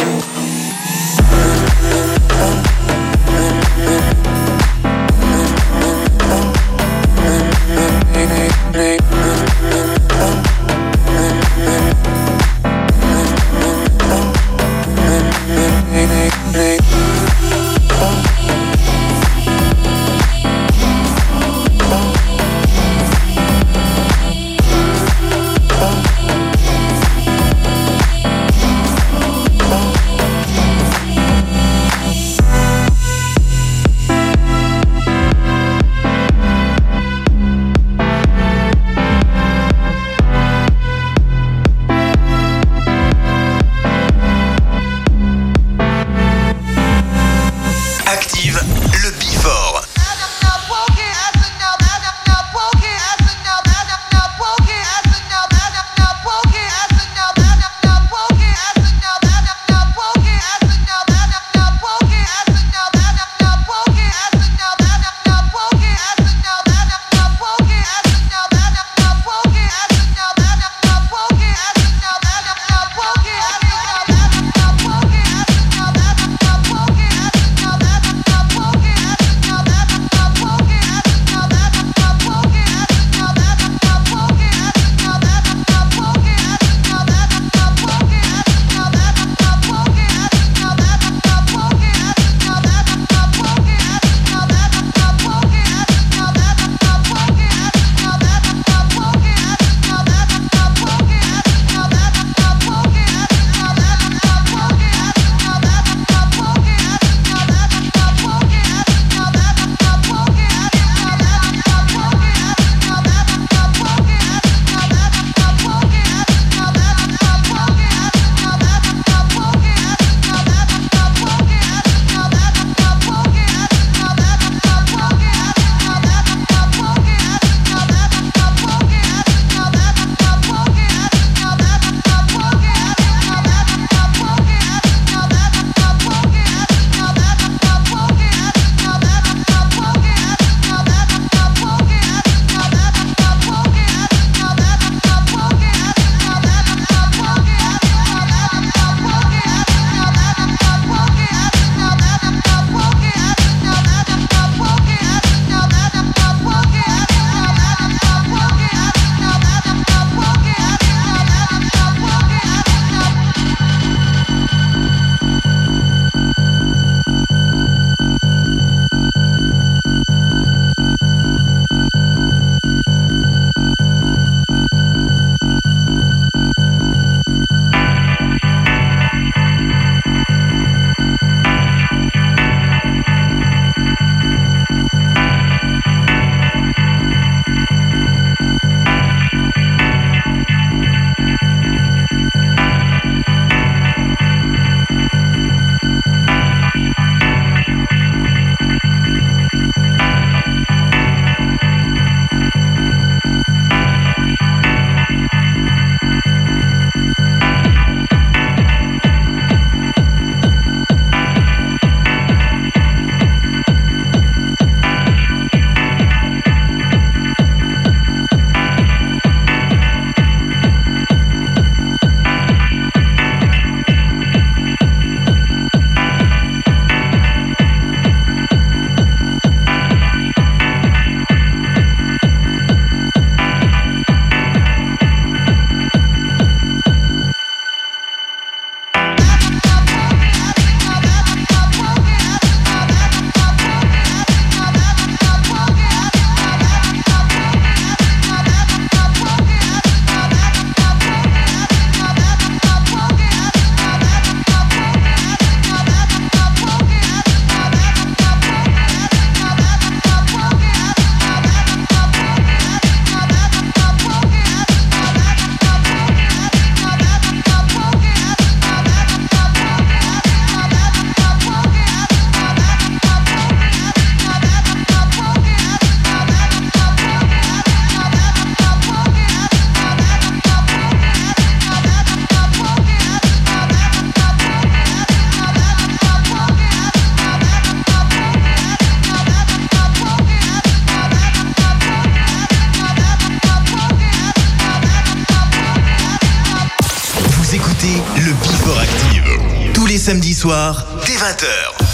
samedis soirs, dès 20h.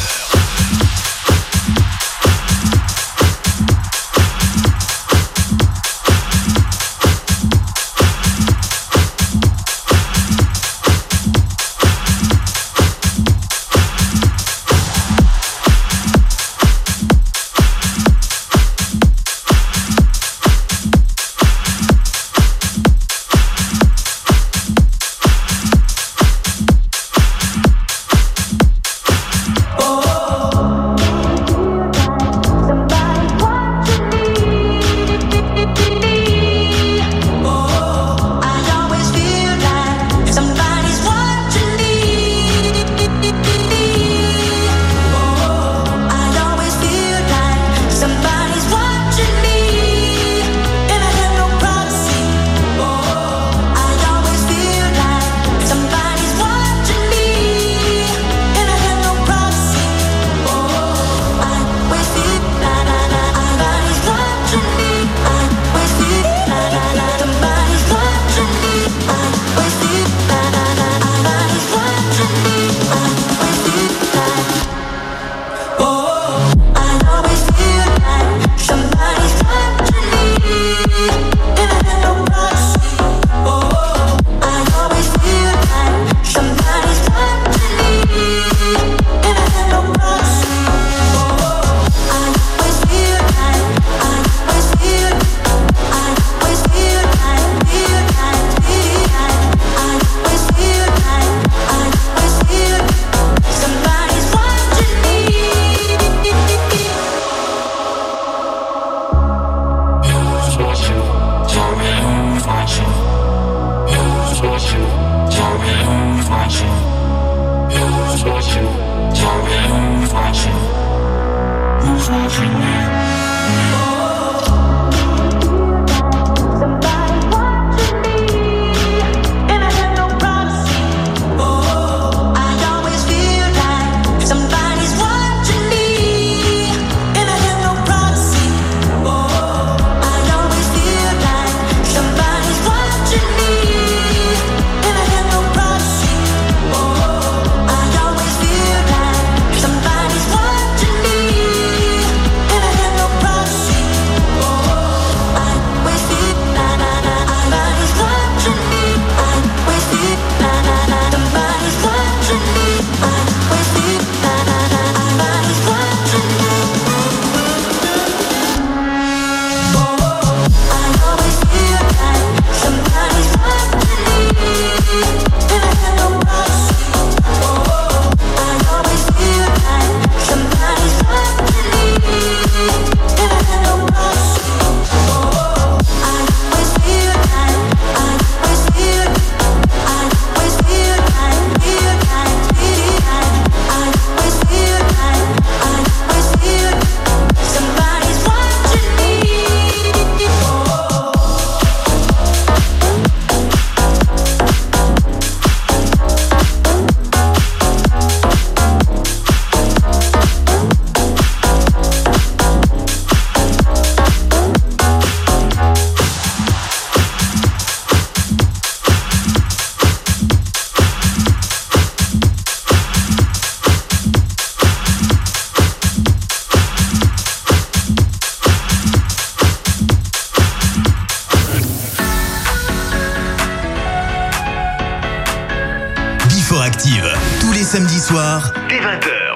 Active, tous les samedis soirs, dès 20h.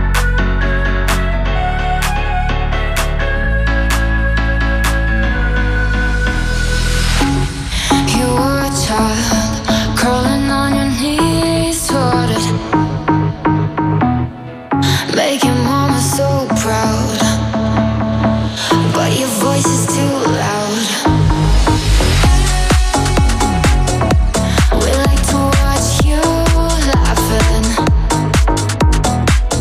You were a child, crawling on your knees toward it, making mama so proud, but your voice is too loud. We like to watch you laughing.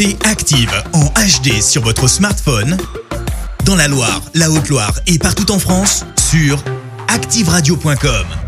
écoutez Active en HD sur votre smartphone, dans la Loire, la Haute-Loire et partout en France, sur activeradio.com.